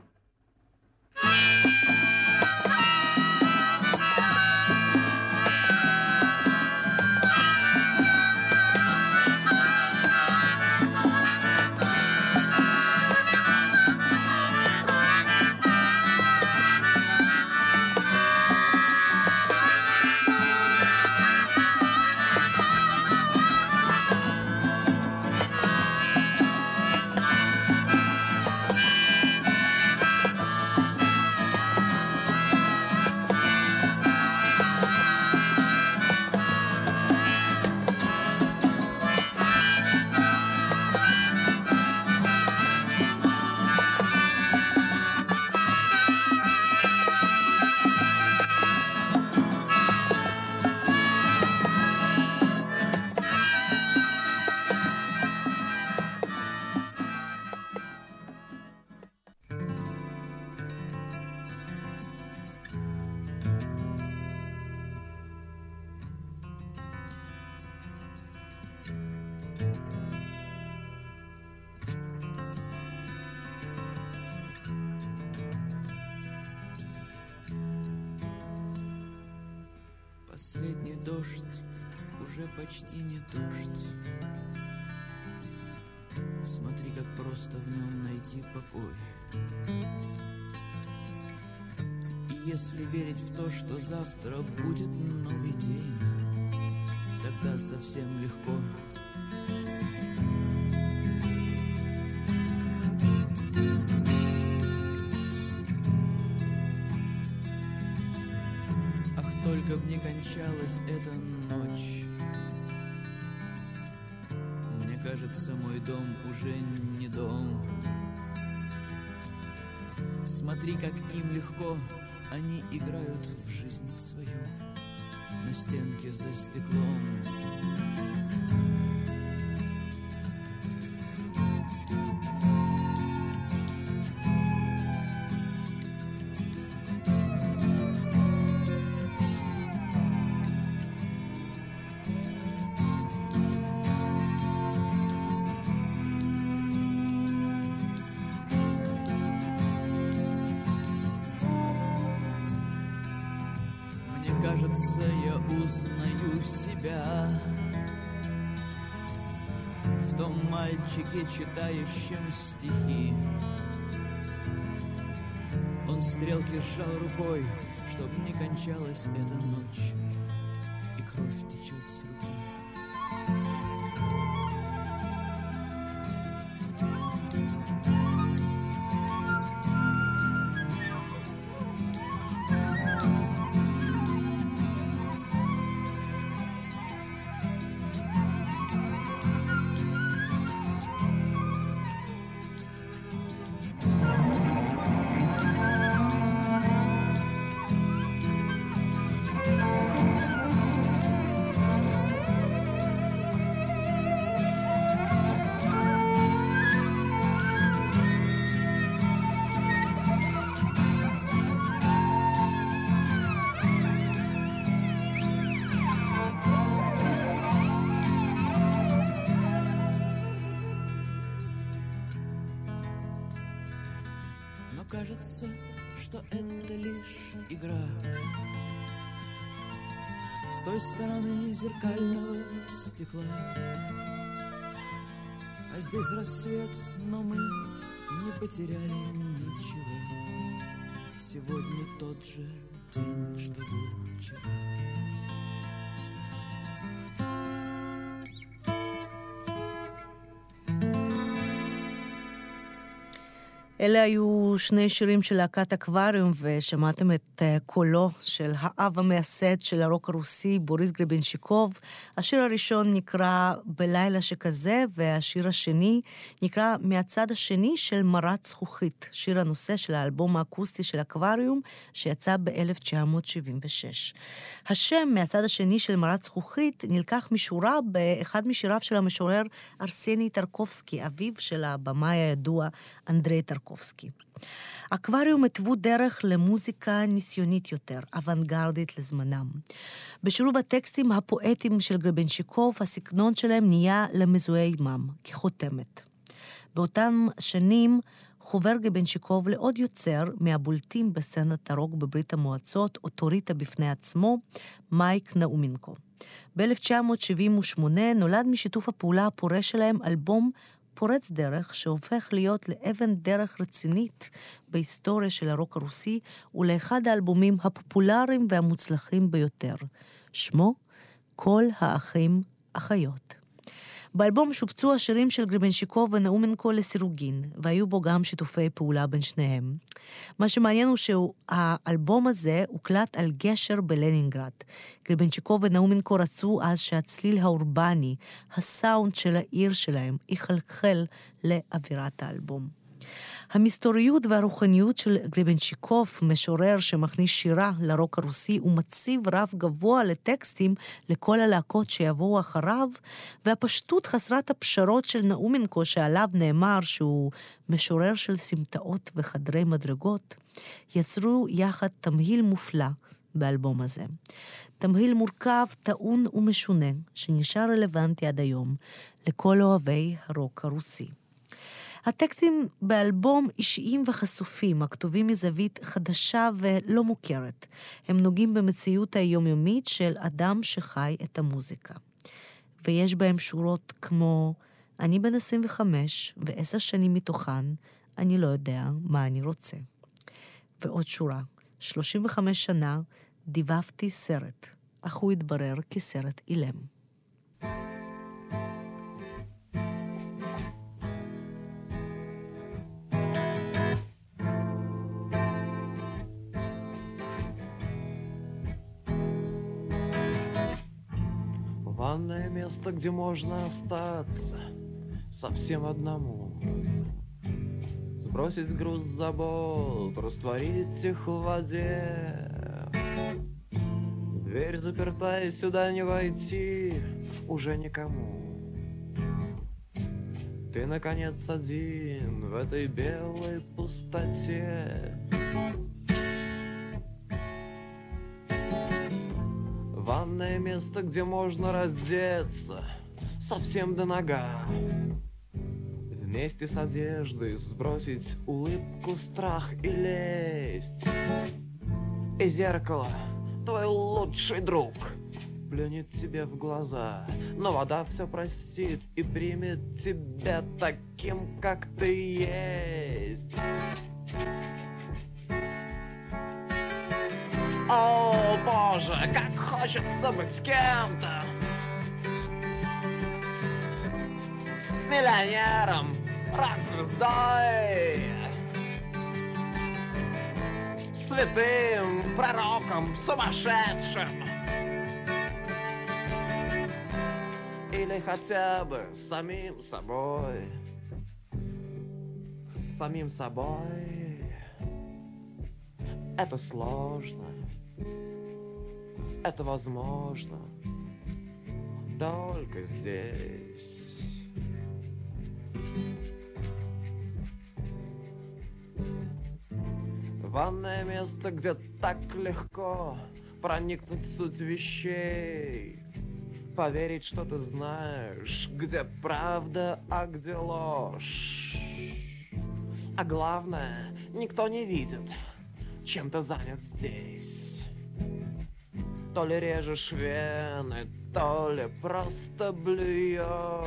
Последний дождь, уже почти не дождь. Смотри, как просто в нем найти покой. И если верить в то, что завтра будет новый день, тогда совсем легко. Только б не кончалась эта ночь. Мне кажется, мой дом уже не дом. Смотри, как им легко, они играют в жизнь свою на стенке за стеклом. Кажется, я узнаю себя в том мальчике, читающем стихи. Он стрелки сжал рукой, чтоб не кончалась эта ночь, и кровь течет с руки. Кажется, что это лишь игра. С той стороны зеркального стекла. А здесь рассвет, но мы не потеряли ничего. Сегодня тот же день, что был вчера. אלה היו שני שירים של להקת אקווריום, ושמעתם את קולו של האב המייסד של הרוק הרוסי, בוריס גרבנצ'יקוב. השיר הראשון נקרא בלילה שכזה, והשיר השני נקרא מהצד השני של מרת זכוכית, שיר הנושא של האלבום האקוסטי של אקווריום, שיצא ב-אלף תשע מאות שבעים ושש. השם מהצד השני של מרת זכוכית נלקח משורה באחד משיריו של המשורר ארסני טרקובסקי, אביו של הבמאי הידוע אנדרי טרקובסקי. אקווריום התוו דרך למוזיקה ניסיונית יותר, אוונגרדית לזמנם. בשילוב הטקסטים הפואטיים של גרבנצ'יקוב, הסגנון שלהם נהיה למזוהה עמם, כחותמת. באותם שנים חובר גרבנצ'יקוב לעוד יוצר מהבולטים בסצנת הרוק בברית המועצות, אוטוריטה בפני עצמו, מייק נאומנקו. ב-אלף תשע מאות שבעים ושמונה נולד משיתוף הפעולה הפורה שלהם אלבום פורץ דרך שהופך להיות לאבן דרך רצינית בהיסטוריה של הרוק הרוסי ולאחד האלבומים הפופולריים והמוצלחים ביותר. שמו כל האחים אחיות. באלבום שופצו השירים של גרבנצ'יקוב ונאומנקו לסירוגין, והיו בו גם שיתופי פעולה בין שניהם. מה שמעניין הוא שהאלבום הזה הוקלט על גשר בלנינגרד. גרבנצ'יקוב ונאומנקו רצו אז שהצליל האורבני, הסאונד של העיר שלהם, יחלחל לאווירת האלבום. המסתוריות והרוחניות של גרבנצ'יקוב, משורר שמכניס שירה לרוק הרוסי, ומציב רב גבוה לטקסטים לכל הלהקות שיבואו אחריו, והפשטות חסרת הפשרות של נאומנקו, שעליו נאמר שהוא משורר של סמטאות וחדרי מדרגות, יצרו יחד תמהיל מופלא באלבום הזה. תמהיל מורכב, טעון ומשונה, שנשאר רלוונטי עד היום לכל אוהבי הרוק הרוסי. הטקסטים באלבום אישיים וחשופים, הכתובים מזווית חדשה ולא מוכרת. הם נוגעים במציאות היומיומית של אדם שחי את המוזיקה. ויש בהם שורות כמו, אני בן עשרים וחמש ועשר שנים מתוכן, אני לא יודע מה אני רוצה. ועוד שורה, שלושים וחמש שנה דיבבתי סרט, אך הוא התברר כסרט אילם. Ванное место, где можно остаться совсем одному. Сбросить груз забот, растворить их в воде. Дверь заперта, и сюда не войти уже никому. Ты, наконец, один в этой белой пустоте. Ванное место, где можно раздеться совсем до нога. Вместе с одеждой сбросить улыбку, страх и лесть. И зеркало, твой лучший друг, плюнет тебе в глаза, но вода все простит и примет тебя таким, как ты есть. О, боже, как хочется быть с кем-то. Миллионером, рок-звездой, святым, пророком, сумасшедшим. Или хотя бы самим собой. Самим собой. Это сложно. Это возможно только здесь. Ванное место, где так легко проникнуть в суть вещей, поверить, что ты знаешь, где правда, а где ложь. А главное, никто не видит, чем ты занят здесь. То ли режешь вены, то ли просто блюешь.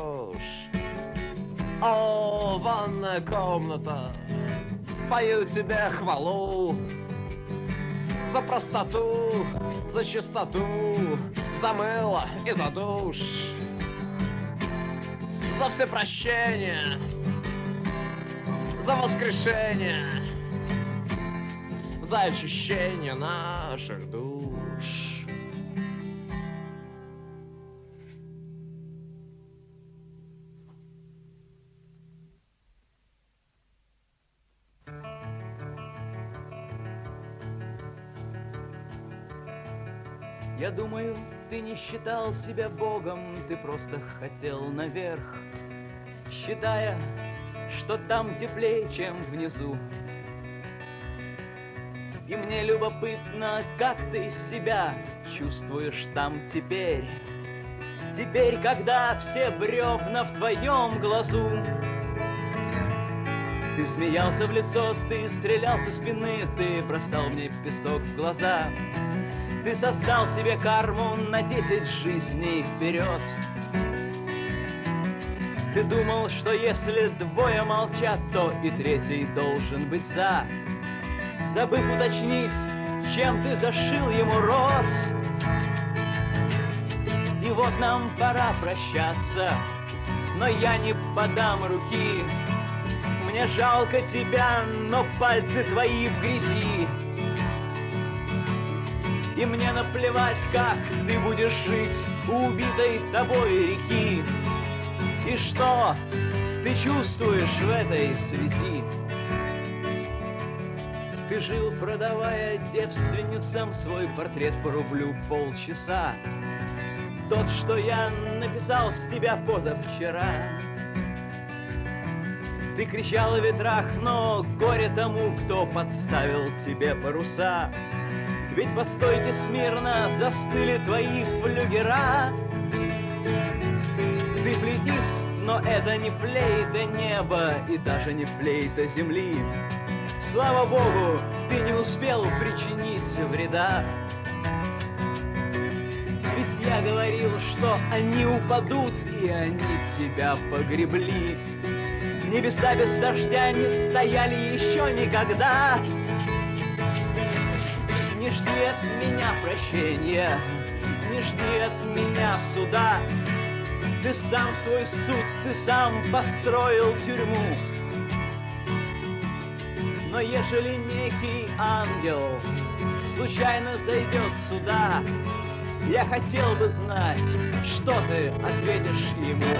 О, ванная комната, пою тебе хвалу за простоту, за чистоту, за мыло и за душ, за все прощения, за воскрешение, за очищение наших душ. Я думаю, ты не считал себя богом, ты просто хотел наверх, считая, что там теплее, чем внизу. И мне любопытно, как ты себя чувствуешь там теперь. Теперь, когда все бревна в твоем глазу. Ты смеялся в лицо, ты стрелял со спины, ты бросал мне песок в глаза. Ты создал себе карму на десять жизней вперед. Ты думал, что если двое молчат, то и третий должен быть за, забыв уточнить, чем ты зашил ему рот. И вот нам пора прощаться, но я не подам руки. Мне жалко тебя, но пальцы твои в грязи. И мне наплевать, как ты будешь жить у убитой тобой реки. И что ты чувствуешь в этой связи? Ты жил, продавая девственницам свой портрет по рублю полчаса. Тот, что я написал с тебя позавчера. Ты кричал о ветрах, но горе тому, кто подставил тебе паруса. Ведь по стойке смирно застыли твои флюгера. Ты флейтист, но это не флейта неба и даже не флейта земли. Слава Богу, ты не успел причинить вреда. Ведь я говорил, что они упадут, и они тебя погребли. Небеса без дождя не стояли еще никогда. Не жди от меня прощения, не жди от меня суда. Ты сам свой суд, ты сам построил тюрьму. Но ежели некий ангел случайно зайдет сюда, я хотел бы знать, что ты ответишь ему.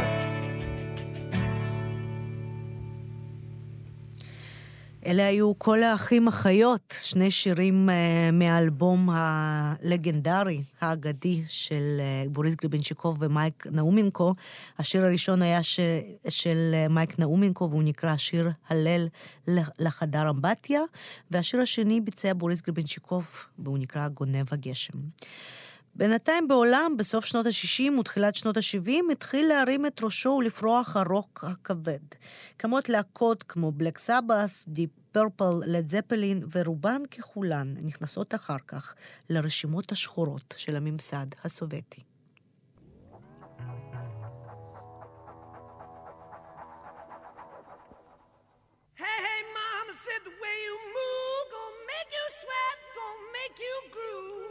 אלה היו כל האחים החיות, שני שירים uh, מהאלבום הלגנדרי, האגדי של uh, בוריס גריבנצ'יקוב ומייק נאומינקו. השיר הראשון היה ש... של uh, מייק נאומינקו, והוא נקרא שיר הלל לחדר אמבטיה, והשיר השני ביצע בוריס גריבנצ'יקוב, והוא נקרא גונב הגשם. בינתיים בעולם, בסוף שנות ה-שישים ותחילת שנות ה-שבעים, התחיל להרים את ראשו ולפרוח הרוק הכבד. כמות להקות כמו בלק סבת, דיפ פרפל, לד זפלין, ורובן ככולן נכנסות אחר כך לרשימות השחורות של הממסד הסובייטי. Hey, hey, mama said the way you move, gonna make you sweat, gonna make you groove.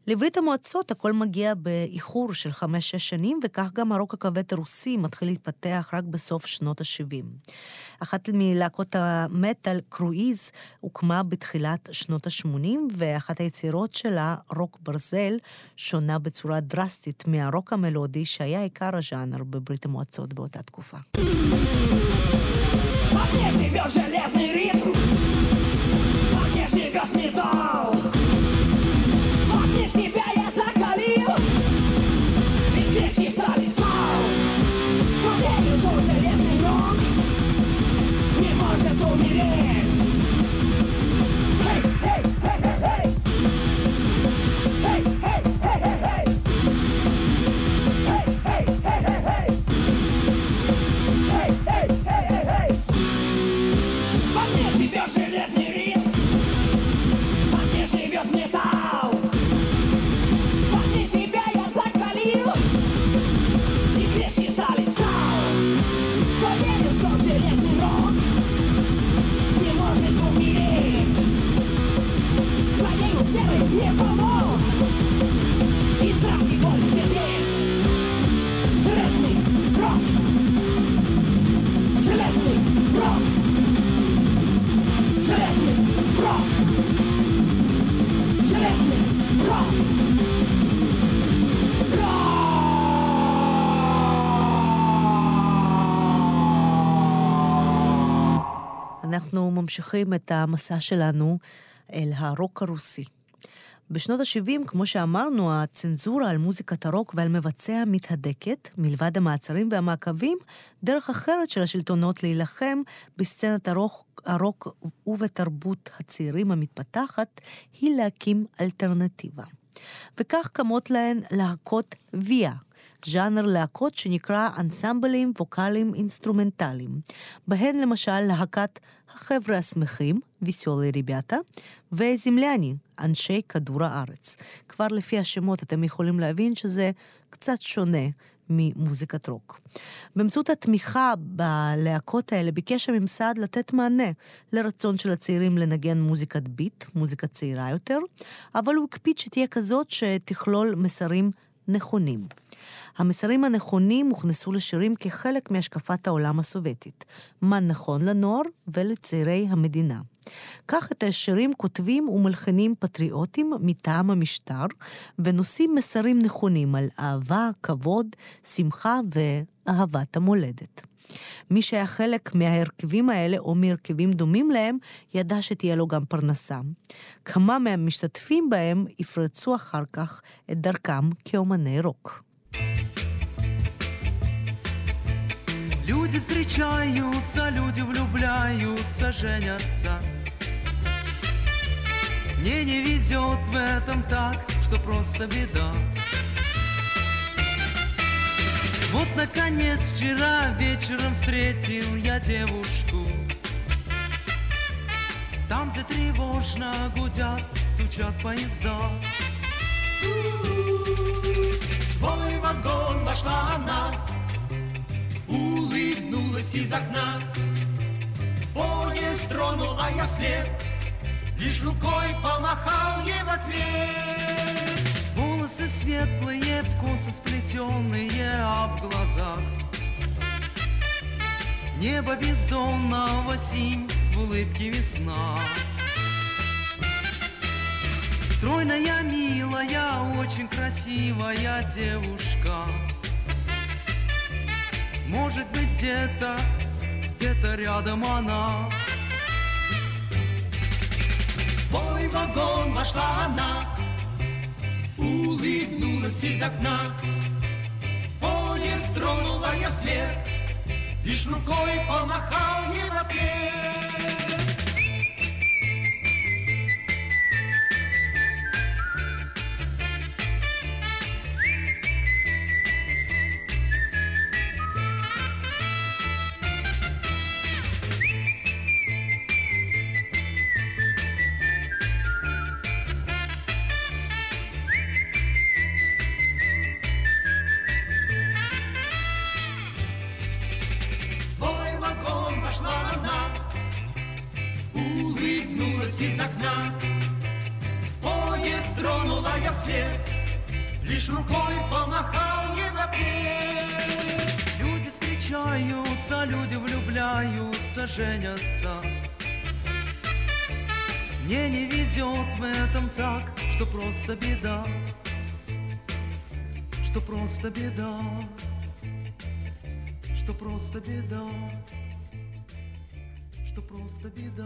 לברית המועצות הכל מגיע באיחור של חמש-שש שנים, וכך גם הרוק הכבד הרוסי מתחיל להתפתח רק בסוף שנות ה-שבעים. אחת מלהקות המטל, קרואיז, הוקמה בתחילת שנות ה-שמונים, ואחת היצירות שלה, רוק ברזל, שונה בצורה דרסטית מהרוק המלודי שהיה עיקר הז'אנר בברית המועצות באותה תקופה. אנחנו ממשיכים את המסע שלנו אל הרוק הרוסי. בשנות ה-שבעים, כמו שאמרנו, הצנזורה על מוזיקת הרוק ועל מבצע מתהדקת, מלבד המעצרים והמעקבים, דרך אחרת של השלטונות להילחם בסצנת הרוק, הרוק ובתרבות הצעירים המתפתחת, היא להקים אלטרנטיבה. וכך קמות להן להקות ויה, ז'אנר להקות שנקרא אנסמבלים ווקליים אינסטרומנטליים, בהן למשל להקת החבר'ה השמחים, ויסולי ריבята, וזמלני, אנשי כדור הארץ. כבר לפי השמות אתם יכולים להבין שזה קצת שונה ממוזיקת רוק. באמצעות התמיכה בלהקות האלה ביקש הממסד לתת מענה לרצון של הצעירים לנגן מוזיקת ביט, מוזיקה צעירה יותר, אבל הוא הקפיד שתהיה כזאת שתכלול מסרים נכונים. המסרים הנכונים הוכנסו לשירים כחלק מהשקפת העולם הסובייטית, מה נכון לנוער ולצעירי המדינה. כך את השירים כותבים ומלחינים פטריוטים מטעם המשטר, ונושאים מסרים נכונים על אהבה, כבוד, שמחה ואהבת המולדת. מי שהיה חלק מההרכבים האלה או מהרכבים דומים להם, ידע שתהיה לו גם פרנסה. כמה מהמשתתפים בהם יפרצו אחר כך את דרכם כאומני רוק. Люди встречаются, люди влюбляются, женятся. Мне не везет в этом так, что просто беда. Вот, наконец, вчера вечером встретил я девушку. Там, где тревожно гудят, стучат поезда. В свой вагон вошла она, улыбнулась из окна. Поезд тронул, а я вслед лишь рукой помахал ей в ответ. Волосы светлые, в косы сплетенные, а в глазах небо бездонного синь, в улыбке весна. Стройная, милая, очень красивая девушка. Может быть, где-то, где-то рядом она. В свой вагон вошла она, улыбнулась из окна. Поезд тронула я вслед, лишь рукой помахал ей в ответ. Улыбнулась из окна. Поезд тронула я вслед, лишь рукой помахал ей в ответ. Люди встречаются, люди влюбляются, женятся. Мне не везет в этом так, что просто беда, что просто беда, что просто беда, что просто беда.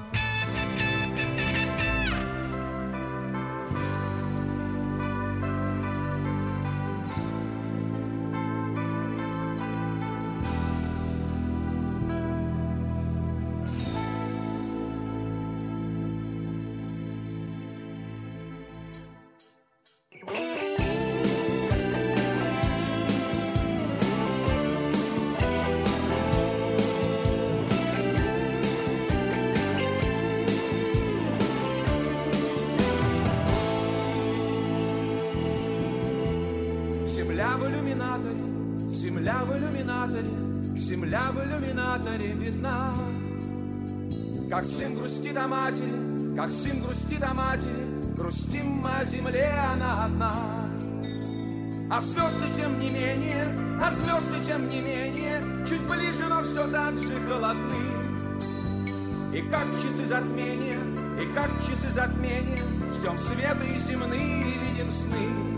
Земля в иллюминаторе, земля в иллюминаторе, земля в иллюминаторе видна. Как сын грустит о матери, как сын грустит о матери, грустим мы о земле, она одна. А звезды тем не менее, а звезды тем не менее, чуть ближе, но все так же холодны. И как часы затмения, и как часы затмения, ждем света и земные, и видим сны.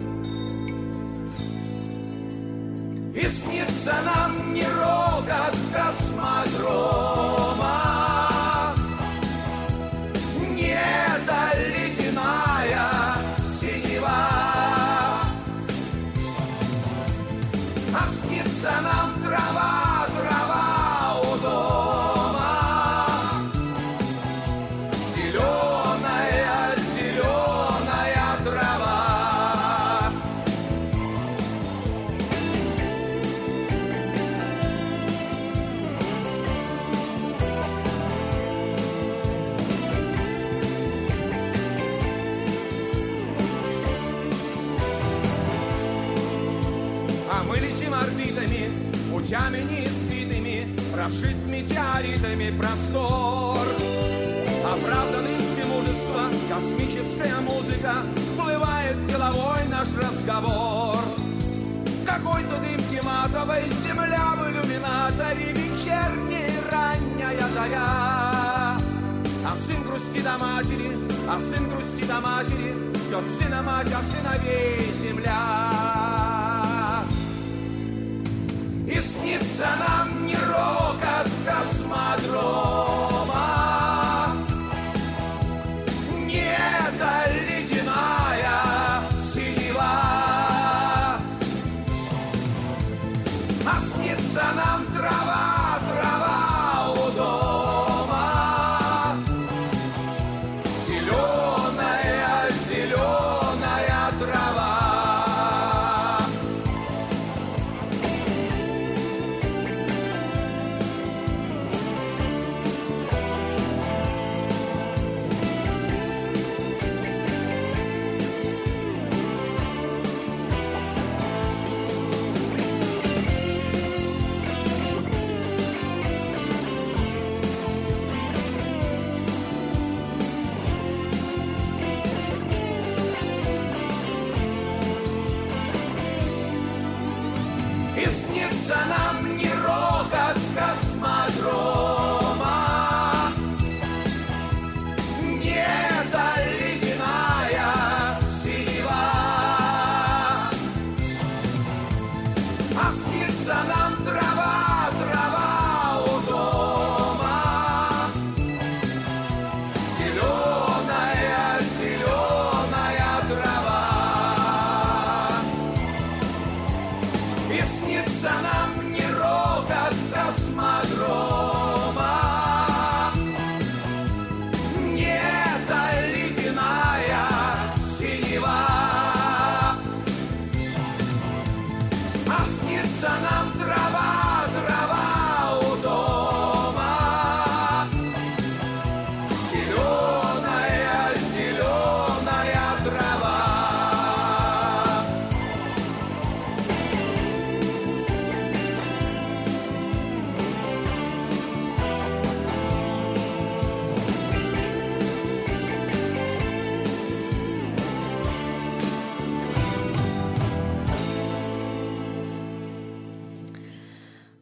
И снится нам не рокот космодрома, не эта ледяная синева, а снится нам трава, трава у дома, зеленая, зеленая трава. Мы летим орбитами, путями неизведанными, прошит метеоритами простор. Оправданный из мужества, космическая музыка, всплывает головой наш разговор. Какой-то дымки матовой, земля в иллюминаторе, вечерняя ранняя заря. А сын грустит о матери, а сын грустит о матери, ждет сына мать, а сыновей земля. И снится нам не рокот космодрома, не эта ледяная синева, а снится нам трава, трава у дома, зеленая, зеленая трава.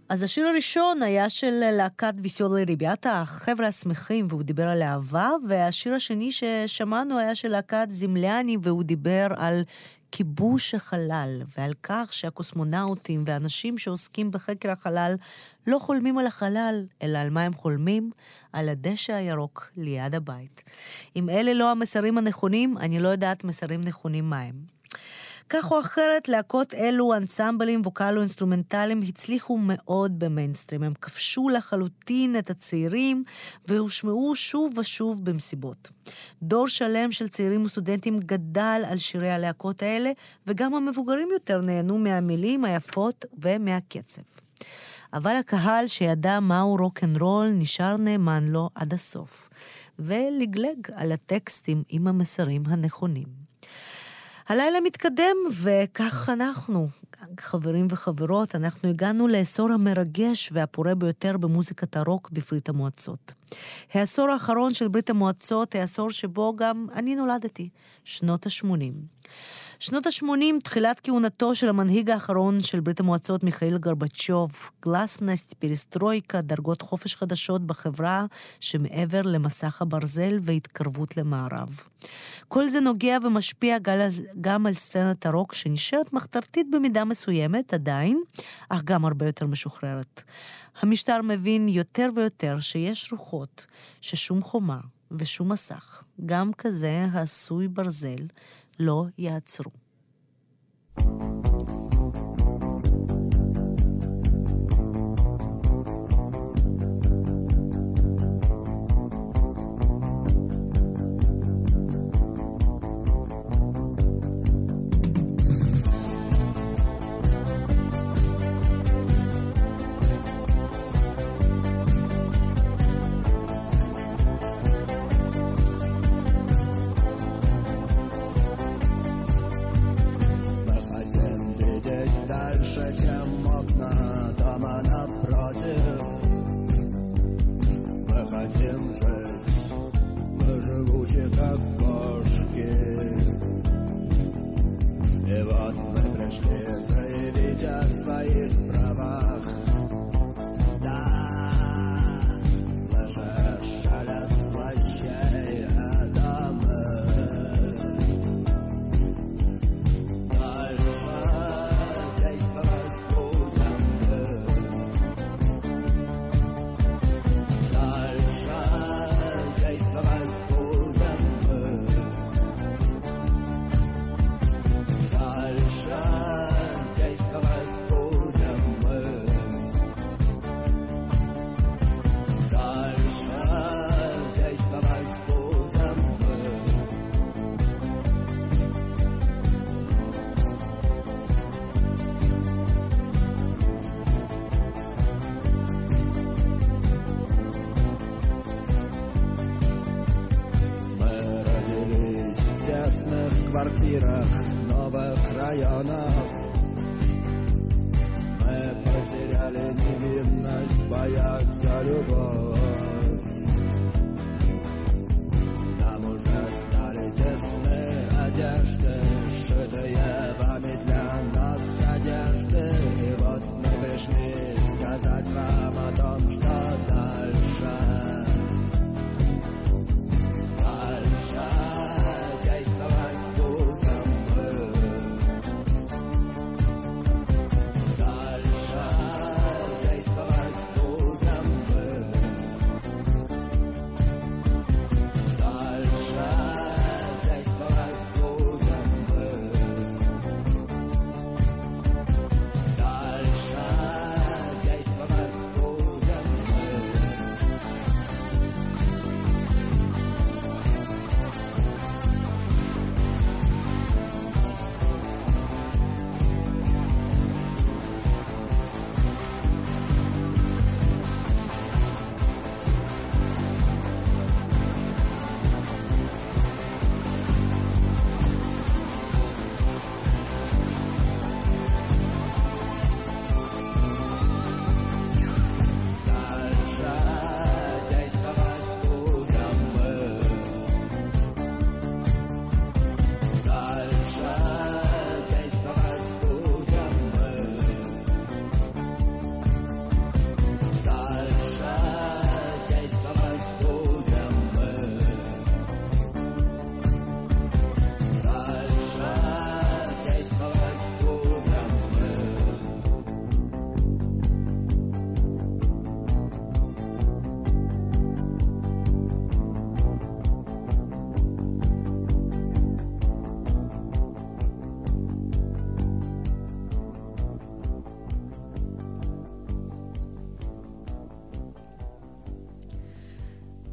אז השיר הראשון היה של להקת ויסיולי ריביאטה, החבר'ה השמחים, והוא דיבר על אהבה, והשיר השני ששמענו היה של להקת זמליאני, והוא דיבר על כיבוש החלל, ועל כך שהקוסמונאוטים ואנשים שעוסקים בחקר החלל לא חולמים על החלל, אלא על מה הם חולמים? על הדשא הירוק ליד הבית. אם אלה לא המסרים הנכונים, אני לא יודעת מסרים נכונים מה הם. כך או אחרת, להקות אלו, אנסמבלים, ווקלו, אינסטרומנטליים, הצליחו מאוד במיינסטרים. הם כבשו לחלוטין את הצעירים, והושמעו שוב ושוב במסיבות. דור שלם של צעירים וסטודנטים גדל על שירי הלהקות האלה, וגם המבוגרים יותר נהנו מהמילים היפות ומהקצב. אבל הקהל שידע מהו רוק-אנד-רול נשאר נאמן לו עד הסוף, ולגלג על הטקסטים עם המסרים הנכונים. הלילה מתקדם, וכך אנחנו, חברים וחברות, אנחנו הגענו לעשור המרגש והפורה ביותר במוזיקת הרוק בברית המועצות. העשור האחרון של ברית המועצות, העשור שבו גם אני נולדתי, שנות ה-שמונים. שנות ה-שמונים, תחילת כהונתו של המנהיג האחרון של ברית המועצות, מיכאיל גורבצ'וב, גלסנסט, פריסטרויקה, דרגות חופש חדשות בחברה שמעבר למסך הברזל והתקרבות למערב. כל זה נוגע ומשפיע גם על סצנת הרוק שנשארת מחתרתית במידה מסוימת עדיין, אך גם הרבה יותר משוחררת. המשטר מבין יותר ויותר שיש רוחות ששום חומה ושום מסך, גם כזה העשוי ברזל, לא יעצרו. квартирах новых районов. Мы потеряли невинность в боях за любовь. Нам уже стали тесны одежды, сшитые вами для нас одежды. И вот мы пришли сказать вам о том, что дальше. Дальше действовать будем мы. Дальше действовать будем мы.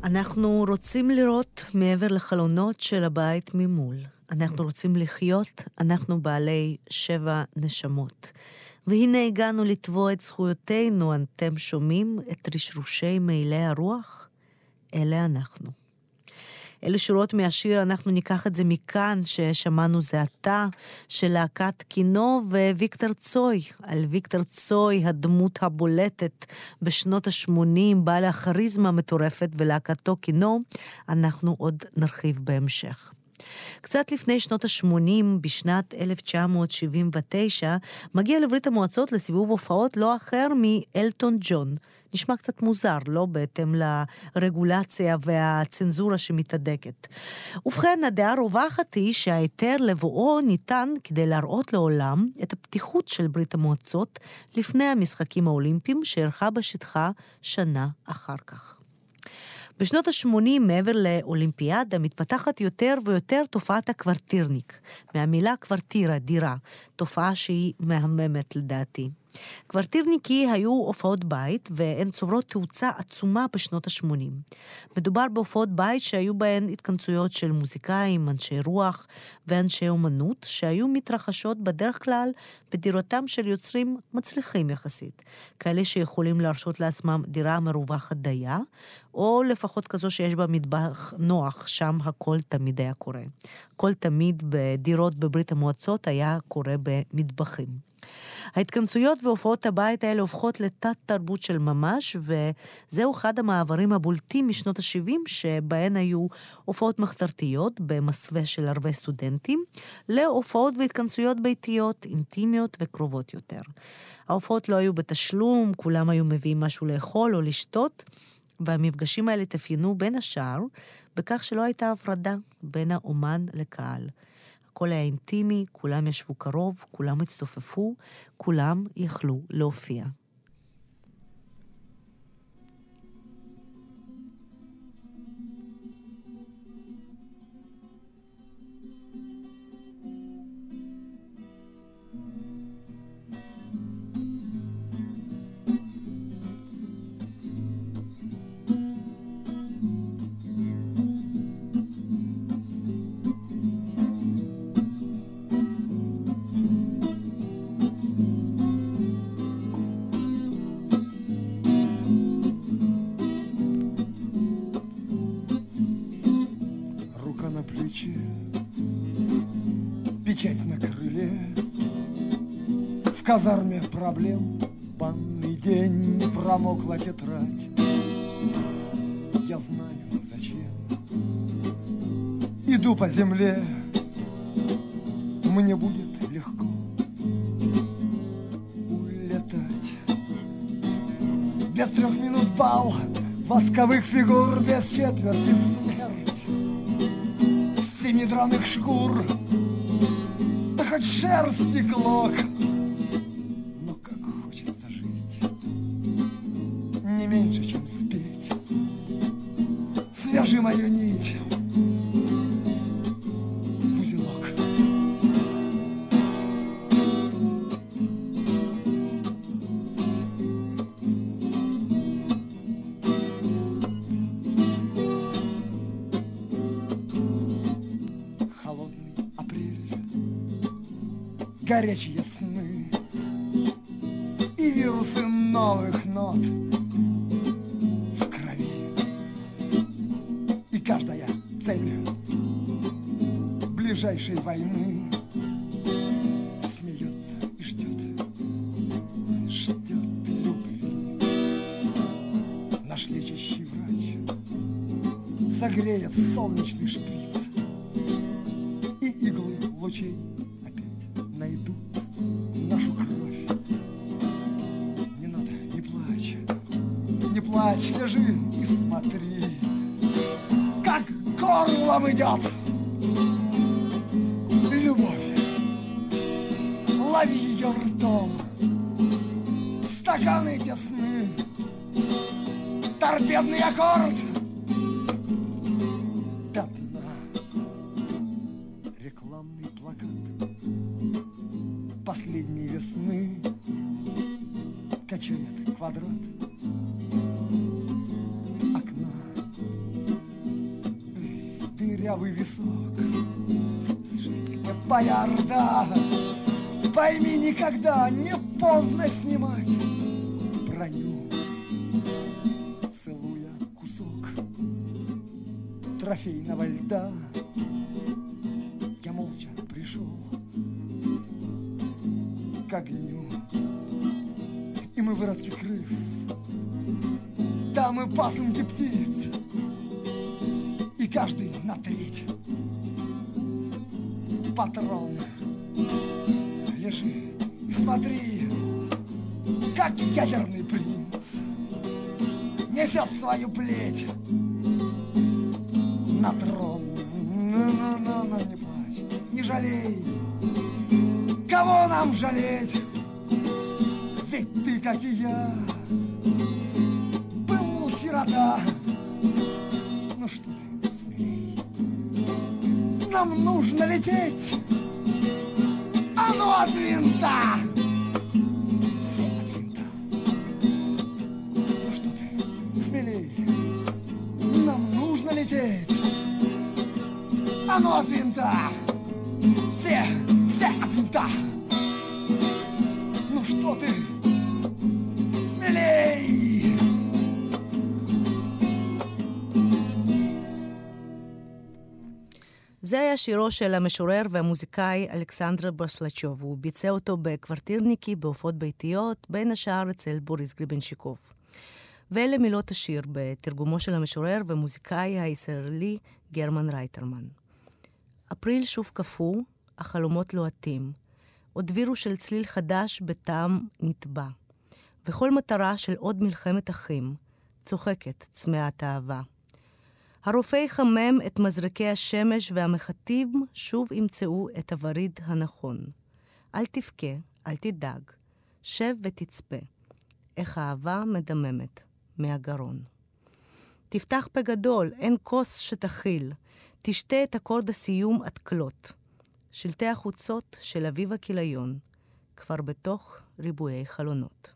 אנחנו רוצים לראות מעבר לחלונות של הבית ממול. אנחנו רוצים לחיות, אנחנו בעלי שבע נשמות. והנה הגענו לתבוע את זכויותינו, אתם שומעים את רשרושי מעילי הרוח? אלה אנחנו. אלה שורות מהשיר, אנחנו ניקח את זה מכאן, ששמענו זה עתה, של להקת קינו וויקטור צוי. על ויקטור צוי, הדמות הבולטת בשנות ה-שמונים, בעל הכריזמה המטורפת, ולהקתו קינו, אנחנו עוד נרחיב בהמשך. קצת לפני שנות ה-שמונים, בשנת אלף תשע מאות שבעים ותשע, מגיע לברית המועצות לסיבוב הופעות לא אחר מאלטון ג'ון. נשמע קצת מוזר, לא בהתאם לרגולציה והצנזורה שמתהדקת. ובכן, הדעה הרווחת היא שההיתר לבואו ניתן כדי להראות לעולם את הפתיחות של ברית המועצות לפני המשחקים האולימפיים שערכה בשטחה שנה אחר כך. בשנות ה-שמונים, מעבר לאולימפיאדה, מתפתחת יותר ויותר תופעת הקוורטירניק. מהמילה קוורטירה, דירה, תופעה שהיא מהממת לדעתי. קוורטירניקי היו הופעות בית, והן צוברות תאוצה עצומה בשנות ה-שמונים. מדובר בהופעות בית שהיו בהן התכנסויות של מוזיקאים, אנשי רוח ואנשי אומנות, שהיו מתרחשות בדרך כלל בדירותם של יוצרים מצליחים יחסית. כאלה שיכולים להרשות לעצמם דירה מרווחת דייה, או לפחות כזו שיש בה מטבח נוח, שם הכל תמיד היה קורה. כל תמיד בדירות בברית המועצות היה קורה במטבחים. ההתכנסויות והופעות הבית האלה הופכות לתת תרבות של ממש, וזהו אחד המעברים הבולטים משנות ה-שבעים, שבהן היו הופעות מחתרתיות במסווה של הרבה סטודנטים, להופעות והתכנסויות ביתיות, אינטימיות וקרובות יותר. ההופעות לא היו בתשלום, כולם היו מביאים משהו לאכול או לשתות, והמפגשים האלה תפיינו בין השאר, בכך שלא הייתה הפרדה בין האומן לקהל. הכל היה אינטימי, כולם ישבו קרוב, כולם הצטופפו, כולם יכלו להופיע. Печать на крыле, в казарме проблем, банный день, промокла тетрадь. Я знаю, зачем иду по земле, мне будет легко улетать. Без трех минут бал, восковых фигур, без четверти смерть, семи драных шкур, да хоть шерсти клок. Но как хочется жить, не меньше, чем спеть. Свяжи мою нить в узелок. Горячие сны и вирусы новых нот в крови. И каждая цель ближайшей войны смеется и ждет, ждет любви. Наш лечащий врач согреет солнечный шприц, и иглы лучей найдут нашу кровь. Не надо, не плачь, не плачь, лежи и смотри, как горлом идет любовь. Лови ее ртом, стаканы тесны, торпедный аккорд до дна. Рекламный плакат последней весны качает квадрат окна. шелковый висок. Боярда, пойми, никогда не поздно снимать броню, целуя кусок трофейного льда. Я молча пришел к огню, и мы выродки крыс, там и пасынки птиц, и каждый на треть. Патрон, лежи, смотри, как ядерный принц несет свою плеть на трон. Ну-ну-ну, не плачь, не жалей, кого нам жалеть? Ведь ты, как и я, был сирота. Ну что ты, смелей, нам нужно лететь, а ну от винта, все от винта. Ну что ты, смелей, нам нужно лететь, а ну от винта, все, все от винта. Ну что ты, смелей. זה היה שירו של המשורר והמוזיקאי אלכסנדר ברסלצ'וב. הוא ביצע אותו בקוורטירניקי, בהופעות ביתיות, בין השאר אצל בוריס גריבנשיקוב. ואלה מילות השיר בתרגומו של המשורר והמוזיקאי הישראלי גרמן רייטרמן. אפריל שוב קפוא, החלומות לוהטים. עוד וירוס של צליל חדש בטעם נטבע. וכל מטרה של עוד מלחמת אחים, צוחקת צמאת האהבה. הרופא יחמם את מזרקי השמש והמחטים שוב ימצאו את הווריד הנכון. אל תבכה, אל תדאג, שב ותצפה. איך האהבה מדממת מהגרון. תפתח פה גדול, אין כוס שתכיל. תשתה את אקורד הסיום עד כלות. שלטי החוצות של אביב הכיליון, כבר בתוך ריבועי חלונות.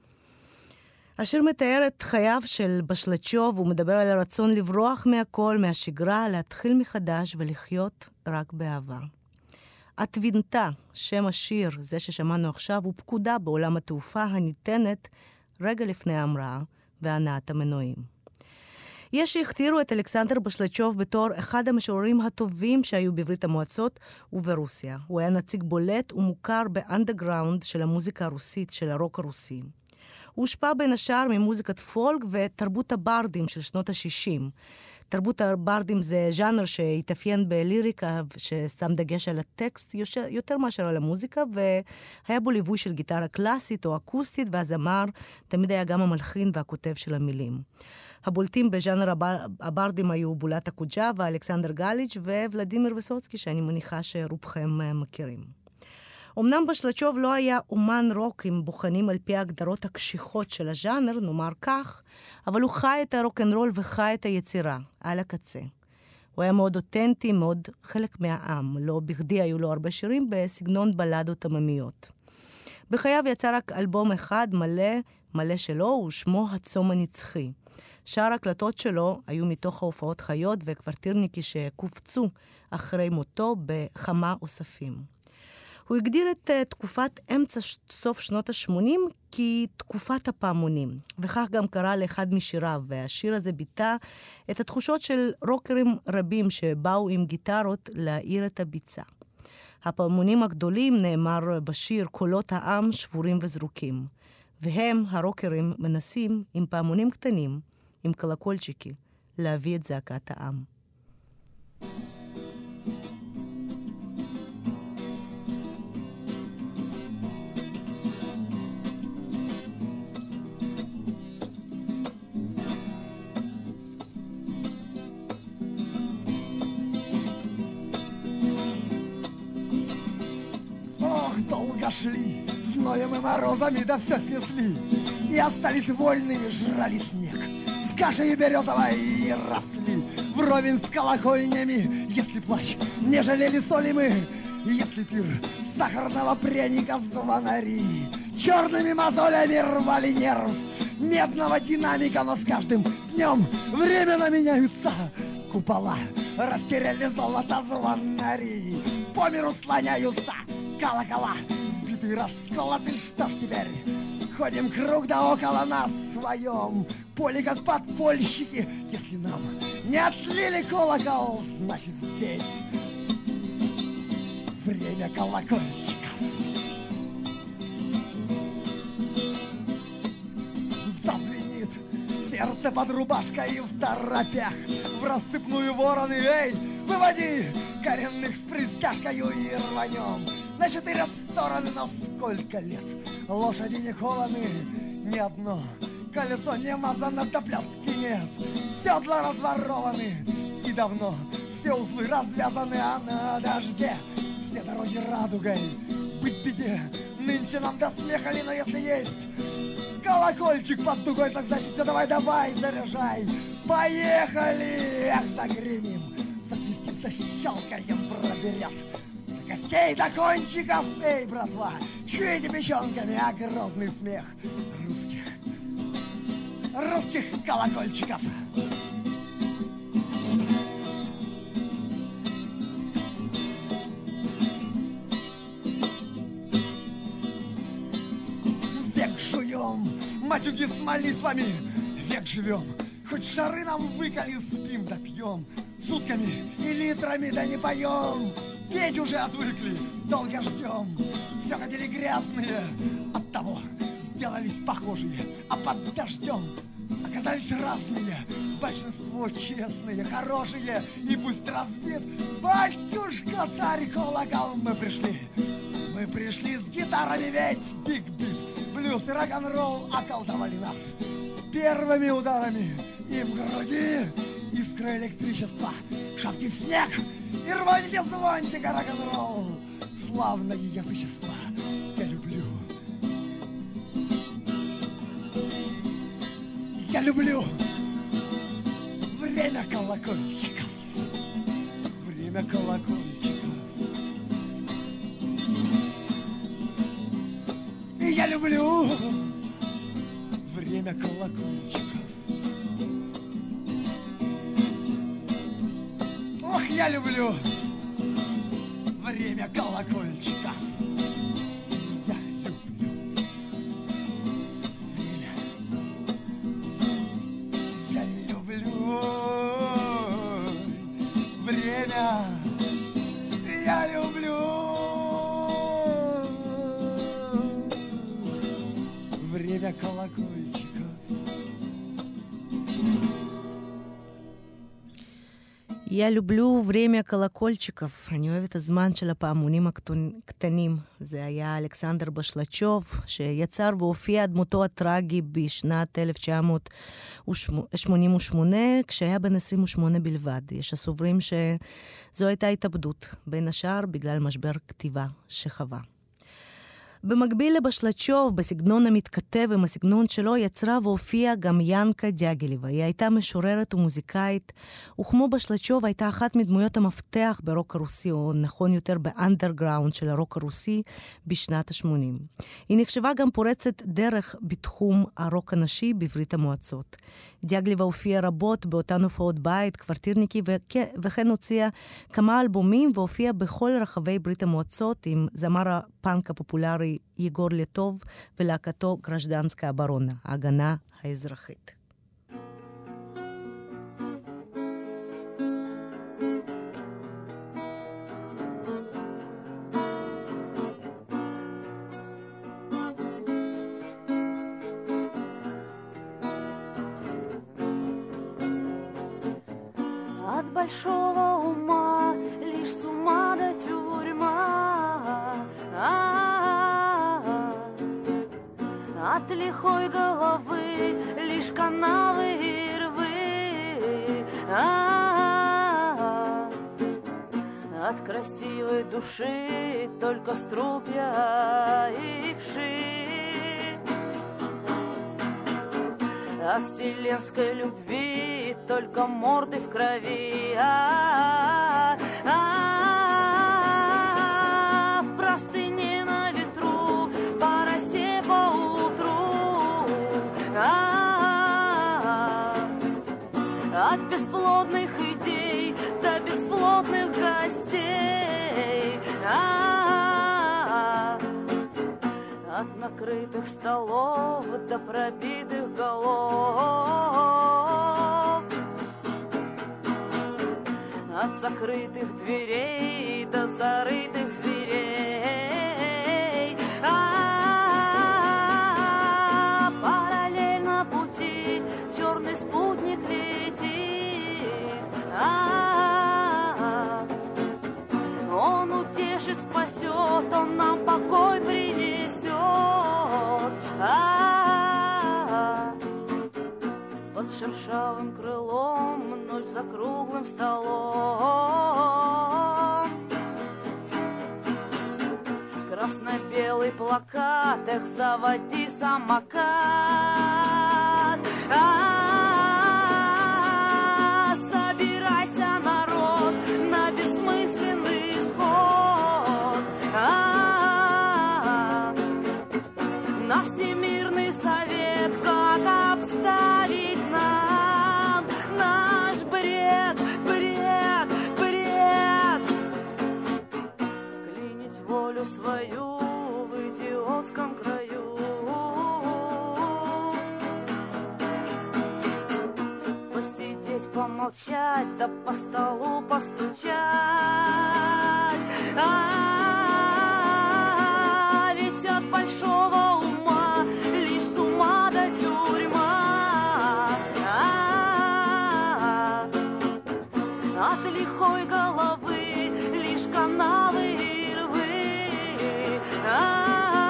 השיר מתאר את חייו של בשלצ'וב, הוא מדבר על הרצון לברוח מהכל, מהשגרה, להתחיל מחדש ולחיות רק באהבה. התבינתה, שם השיר, זה ששמענו עכשיו, הוא פקודה בעולם התעופה הניתנת רגע לפני ההמראה והנעת המנועים. יש שהכתירו את אלכסנדר בשלצ'וב בתור אחד המשוררים הטובים שהיו בברית המועצות וברוסיה. הוא היה נציג בולט ומוכר באנדרגראונד של המוזיקה הרוסית, של הרוק הרוסי. הוא הושפע בין השאר ממוזיקת פולק ותרבות הברדים של שנות ה-שישים. תרבות הברדים זה ז'אנר שהתאפיין בליריקה, ששם דגש על הטקסט יותר מאשר על המוזיקה, והיה בו ליווי של גיטרה קלאסית או אקוסטית, והזמר תמיד היה גם המלחין והכותב של המילים. הבולטים בז'אנר הברדים היו בולט הקוג'אווה, אלכסנדר גליץ' וולדימיר ויסוצקי, שאני מניחה שרובכם מכירים. אמנם בשלצ'וב לא היה אומן רוק עם בוחנים על פי ההגדרות הקשיחות של הז'אנר, נאמר כך, אבל הוא חי את הרוק'נ'רול וחי את היצירה, על הקצה. הוא היה מאוד אותנטי, מאוד חלק מהעם, לא בכדי היו לו הרבה שירים בסגנון בלדות עממיות. בחייו יצא רק אלבום אחד מלא, מלא שלו, ושמו הצום הנצחי. שאר הקלטות שלו היו מתוך ההופעות חיות וקוורטירניקי שקופצו אחרי מותו בכמה אוספים. הוא הגדיר את uh, תקופת אמצע סוף שנות ה-שמונים כתקופת הפעמונים, וכך גם קרא לאחד משיריו, והשיר הזה ביטא את התחושות של רוקרים רבים שבאו עם גיטרות להעיר את הביצה. הפעמונים הגדולים, נאמר בשיר, קולות העם שבורים וזרוקים, והם, הרוקרים, מנסים עם פעמונים קטנים, עם קלקולצ'יקי, להביא את זעקת העם. Долго шли, зноем и морозами, да все снесли, и остались вольными, жрали снег. С кашей березовой и росли, вровень с колокольнями. Если плач, не жалели соли мы, если пир сахарного пряника звонари черными мозолями рвали нерв медного динамика, но с каждым днем временно меняются купола растеряли золото звонари. По миру слоняются колокола, сбитые, расколоты. Что ж теперь? Ходим круг да около нас своем поле, как подпольщики. Если нам не отлили колокол, значит здесь время колокольчиков. Зазвенит сердце под рубашкой и в торопях, в рассыпную вороны, эй, выводи коренных с пристяжкою и рванем на четыре стороны. Но сколько лет лошади не кованы, ни одно колесо не мазано, до плетки нет, седла разворованы и давно все узлы развязаны, а на дожде все дороги радугой. Быть беде, нынче нам до смеха ли, но если есть колокольчик под дугой, так значит все, давай, давай, заряжай. Поехали! Эх, загремим, засвистим, защелкаем, проберет до костей, до кончиков. Эй, братва, чуете печенками, а грозный смех русских, русских колокольчиков. Век жуем матюги с молитвами, век живем, хоть шары нам выколи, спим да пьем, сутками и литрами да не поем. Петь уже отвыкли, долго ждем, все ходили грязные, оттого сделались похожие, а под дождем оказались разные. Большинство честные, хорошие, и пусть разбит батюшка царь колокол. Мы пришли, мы пришли с гитарами, ведь биг-бит, блюз и рок-н-ролл околдовали нас первыми ударами. И в груди искра электричества, шапки в снег и рваните звончика рок-н-ролл. Славное язычество я люблю, я люблю время колокольчиков, время колокольчиков. И я люблю время колокольчиков. Ох, я люблю время колокольчиков. Я люблю время. Я люблю время. Я люблю время колокольчика. Я люблю время колокольчиков. אני אוהבת הזמן של הפעמונים הקטנים. זה היה אלכסנדר בשלצ'וב, שיצר והופיע דמותו הטרגי בשנת אלף תשע מאות שמונים ושמונה, כשהיה בן עשרים ושמונה בלבד. יש הסוברים שזו הייתה התאבדות, בין השאר בגלל משבר כתיבה שחווה. במקביל לבשלצ'וב, בסגנון המתכתב עם הסגנון שלו, יצרה והופיעה גם ינקה דיאגילבה. היא הייתה משוררת ומוזיקאית, וכמו בשלצ'וב הייתה אחת מדמויות המפתח ברוק הרוסי, או נכון יותר באנדרגראונד של הרוק הרוסי בשנת ה-שמונים. היא נחשבה גם פורצת דרך בתחום הרוק הנשי בברית המועצות. דיאגילבה הופיעה רבות באותן הופעות בית, קוורטירניקי, וכן הוציאה כמה אלבומים והופיעה בכל רחבי ברית המועצות עם זמר הפאנק הפופולרי יגור לטוב ולהקתו גרז'דנסקה הברונה, ההגנה האזרחית. От большого ума лишь с ума до тюрьма, от лихой головы лишь канавы и рвы, от красивой души только струпья и вши, от вселенской любви только морды в крови, а, а, а, в простыне на ветру, по росе по утру, а, а, от бесплодных идей от накрытых столов до пробитых голов, от закрытых дверей до зарытых зверей. А-а-а, параллельно пути черный спутник летит. А-а-а, он утешит, спасет, он нам покой принесет. А-а-а, под шершавым крылом, ночь за круглым столом, красно-белый плакат, эх, заводи самокат. А-а-а, собирайся, народ, на бессмысленный исход. А-а-а, на Всемирный совет, как обставить нам наш бред, бред, бред. Клинить волю свою в идиотском краю. Посидеть, помолчать, да по столу постучать. А-а-а, ведь от большого ума лишь с ума до тюрьма. А-а-а, от лихой головы лишь канавы и рвы. А-а-а.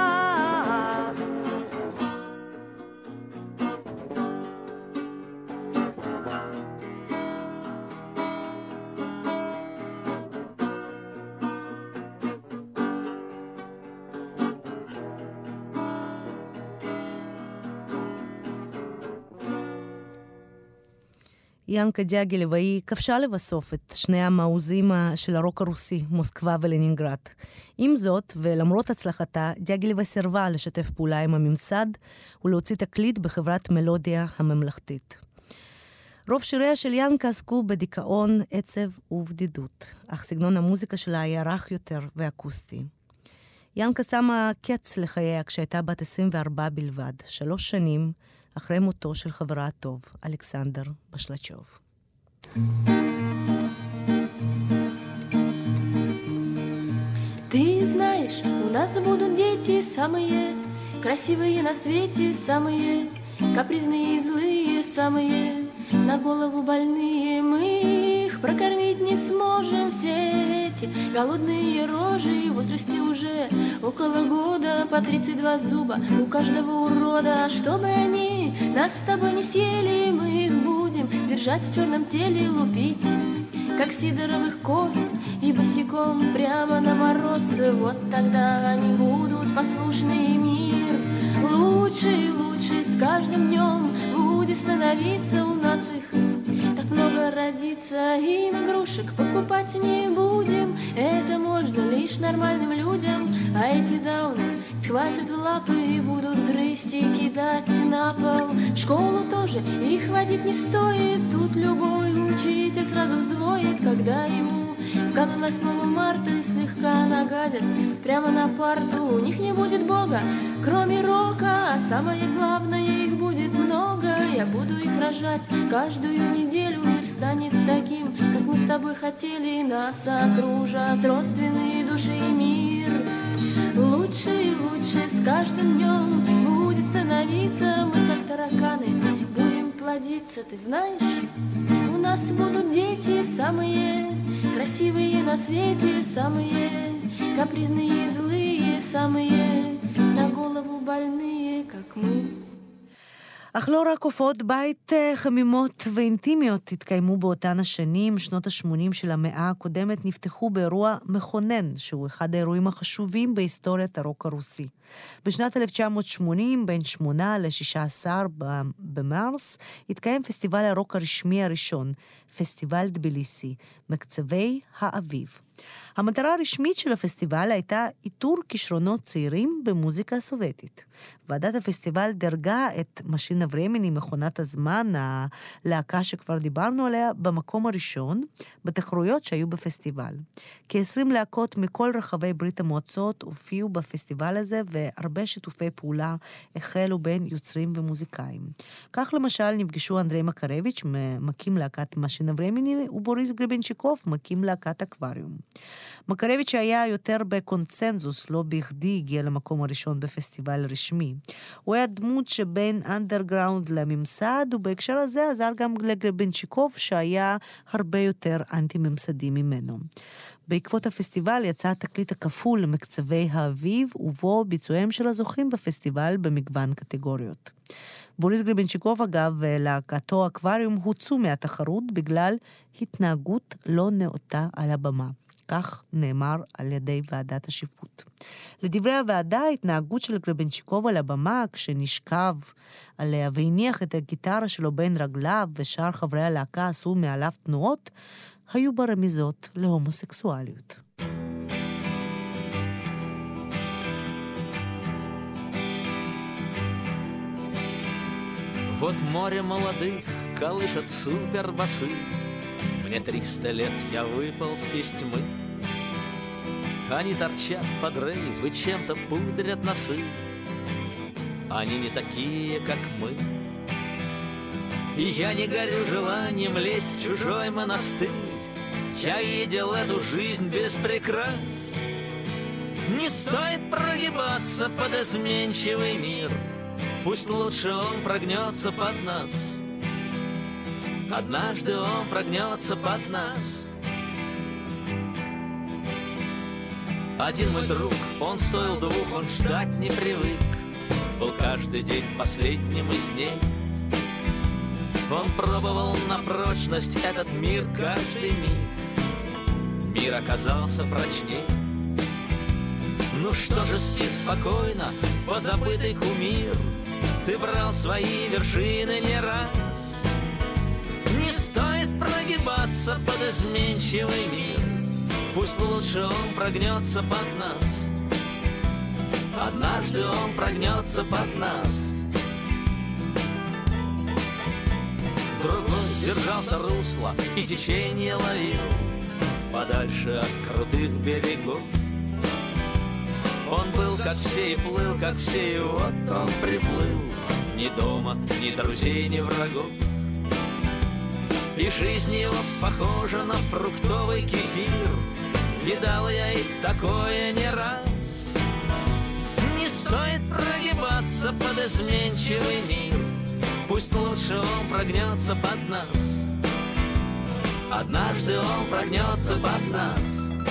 ינקה דיאגילב היא כבשה לבסוף את שני המעוזים של הרוק הרוסי, מוסקבה ולנינגרד. עם זאת, ולמרות הצלחתה, דיאגילב סירבה לשתף פעולה עם הממסד ולהוציא תקליט בחברת מלודיה הממלכתית. רוב שיריה של ינקה עסקו בדיכאון, עצב ובדידות, אך סגנון המוזיקה שלה היה רך יותר ואקוסטי. ינקה שמה קץ לחייה כשהייתה בת עשרים וארבע בלבד, שלוש שנים אחרי מותו של חברה הטוב, אלכסנדר בשלצ'וב. Ты знаешь, у нас будут дети самые красивые на свете, самые капризные и злые, самые на голову больные. Мы их прокормить не сможем, все эти голодные рожи, в возрасте уже около года, по тридцать два зуба у каждого урода. Чтобы они нас с тобой не съели, мы их будем держать в черном теле, лупить, как сидоровых коз, и босиком прямо на мороз. Вот тогда они будут послушны, и мир лучше и лучше с каждым днем будет становиться. У нас их так много родится, им игрушек покупать не будем. Это можно лишь нормальным людям, а эти дауны схватят в лапы и будут грызть и кидать на пол. В школу тоже их водить не стоит, тут любой учитель сразу взвоет, когда ему в канун восьмого марта слегка нагадят прямо на парту. У них не будет Бога, кроме рока, а самое главное, их будет много. Я буду их рожать каждую неделю, мир станет таким, как мы с тобой хотели. Нас окружат родственные души, и мир лучше и лучше с каждым днем будет становиться. Мы как тараканы будем плодиться, ты знаешь, у нас будут дети самые красивые на свете, самые капризные и злые, самые на голову больные, как мы. אך לא רק הופעות בית חמימות ואינטימיות התקיימו באותן השנים. שנות ה-שמונים של המאה הקודמת נפתחו באירוע מכונן, שהוא אחד האירועים החשובים בהיסטוריית הרוק הרוסי. בשנת אלף תשע מאות שמונים, בין שמונה ל-שישה עשר במרס, התקיים פסטיבל הרוק הרשמי הראשון, פסטיבל דביליסי, מקצבי האביב. המטרה הרשמית של הפסטיבל הייתה איתור כישרונות צעירים במוזיקה הסובייטית. ועדת הפסטיבל דרגה את משינה ורמיני, מכונת הזמן, הלהקה שכבר דיברנו עליה, במקום הראשון, בתחרויות שהיו בפסטיבל. כ-עשרים להקות מכל רחבי ברית המועצות הופיעו בפסטיבל הזה, והרבה שיתופי פעולה החלו בין יוצרים ומוזיקאים. כך למשל נפגשו אנדרי מקרביץ', מקים להקת משינה ורמיני, ובוריס גריבנצ'יקוב, מקים להקת אקווריום. מקרביץ' היה יותר בקונצנזוס, לא בכדי הגיע למקום הראשון בפסטיבל רשמי. הוא היה דמות שבין אנדרגראונד לממסד, ובהקשר הזה עזר גם לגריבנצ'יקוב שהיה הרבה יותר אנטי-ממסדי ממנו. בעקבות הפסטיבל יצא התקליט הכפול למקצבי האביב, ובו ביצועיהם של הזוכים בפסטיבל במגוון קטגוריות. בוריס גריבנצ'יקוב, אגב, להקתו אקווריום הוצאו מהתחרות בגלל התנהגות לא נאותה על הבמה. כך נאמר על ידי ועדת השיפוט. לדברי הוועדה, ההתנהגות של גריבנצ'יקוב על הבמה, כשנשכב עליה והניח את הגיטרה שלו בין רגליו ושאר חברי הלהקה עשו מעליו תנועות, היו ברמיזות להומוסקסואליות. Вот море молодых колышет супербасы. Мне триста лет, я выполз из тьмы. Они торчат под рейв и чем-то пудрят носы. Они не такие, как мы. И я не горю желанием лезть в чужой монастырь. Я видел эту жизнь без прикрас. Не стоит прогибаться под изменчивый мир. Пусть лучше он прогнется под нас. Однажды он прогнется под нас. Один мой друг, он стоил двух, он ждать не привык. Был каждый день последним из дней. Он пробовал на прочность этот мир каждый миг. Мир оказался прочней. Ну что же, спи спокойно, позабытый кумир. Ты брал свои вершины не раз. Не стоит прогибаться под изменчивый мир. Пусть лучше он прогнется под нас. Однажды он прогнется под нас. Другой держался русла и течение ловил подальше от крутых берегов. Он был как все и плыл, как все, и вот он приплыл. Ни дома, ни друзей, ни врагов. И жизнь его похожа на фруктовый кефир. Видал я и такое не раз. Не стоит прогибаться под изменчивый мир. Пусть лучше он прогнется под нас. Однажды он прогнется под нас.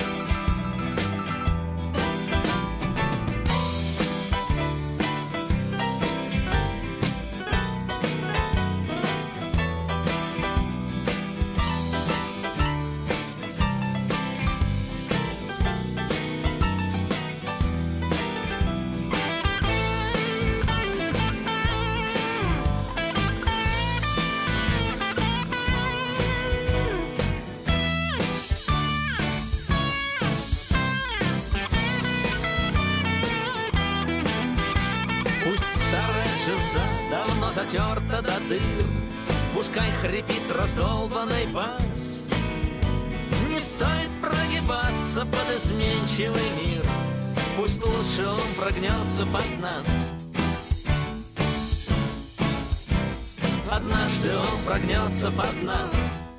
Затерта до дыр, пускай хрипит раздолбанный бас. Не стоит прогибаться под изменчивый мир. Пусть лучше он прогнется под нас. Однажды он прогнется под нас.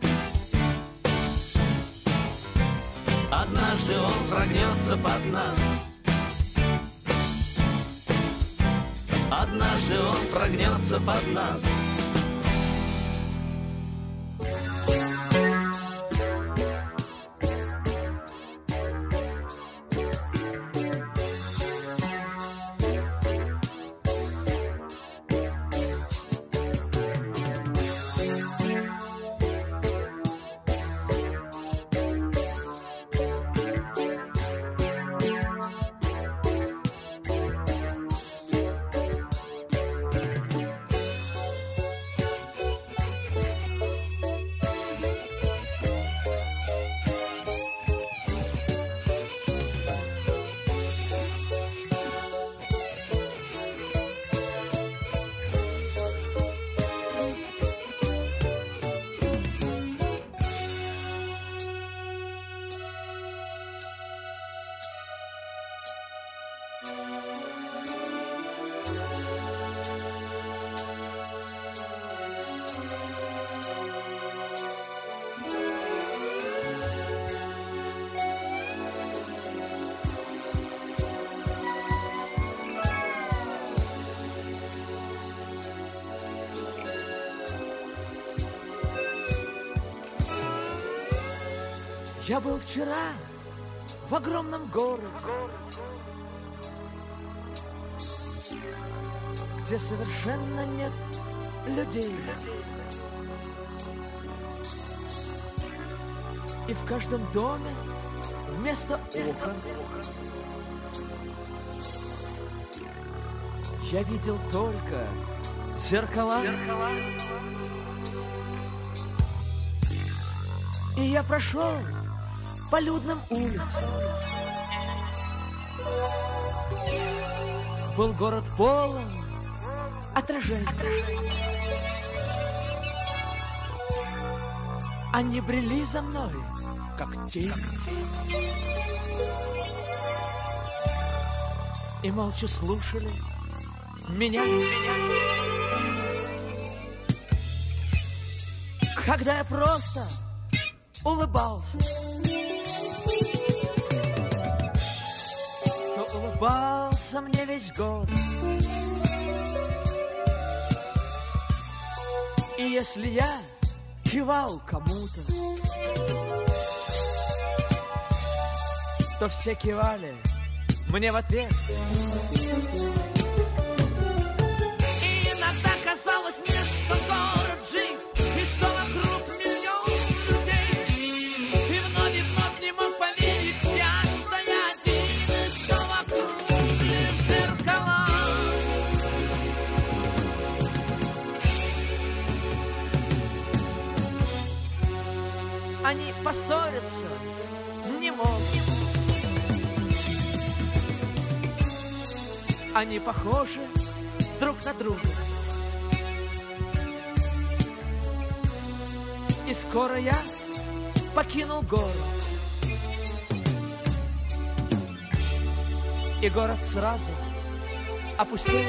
Однажды он прогнется под нас. Однажды он прогнется под нас. Я был вчера в огромном городе, где совершенно нет людей. И в каждом доме вместо окон я видел только зеркала. И я прошел по людным улицам. Был город полон отражений. Они брели за мной, как тени, и молча слушали меня. Когда я просто улыбался, то улыбался мне весь город. И если я кивал кому-то, то все кивали мне в ответ. И иногда казалось мне, что город жив, и что вокруг миллион людей. И вновь и вновь не мог поверить я, что я один, и что вокруг лишь зеркала. Они поссорятся не могут. Они похожи друг на друга. И скоро я покинул город. И город сразу опустел.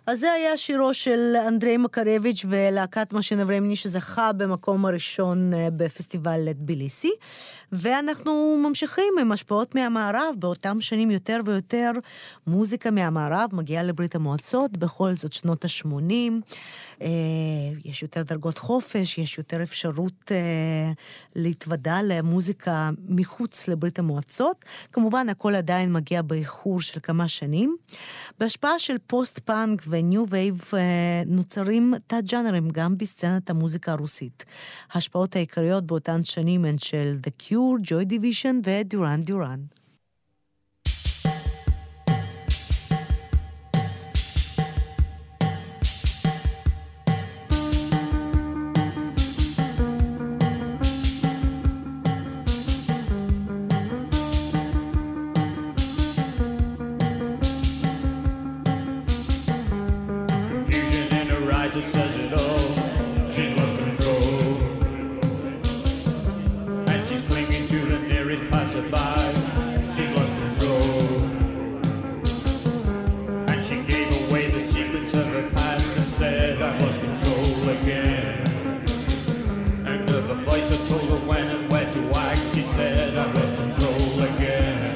אז זה היה שירו של אנדרי מקרביץ' ולהקת משין אברמני שזכה במקום הראשון בפסטיבל טביליסי, ואנחנו ממשיכים עם השפעות מהמערב. באותם שנים יותר ויותר מוזיקה מהמערב מגיעה לברית המועצות, בכל זאת שנות ה-שמונים, יש יותר דרגות חופש, יש יותר אפשרות להתוודע למוזיקה מחוץ לברית המועצות. כמובן הכל עדיין מגיע באיחור של כמה שנים. בהשפעה של פוסט-פאנק וניו וייב נוצרים תת-ג'אנרים גם בסצנת המוזיקה הרוסית. ההשפעות העיקריות באותן שנים הן של The Cure, Joy Division ודיורן דיורן. It says it all, she's lost control, and she's clinging to the nearest passerby. She's lost control, and she gave away the secrets of her past and said, I've lost control again. And of a voice that told her when and where to act, she said, I've lost control again.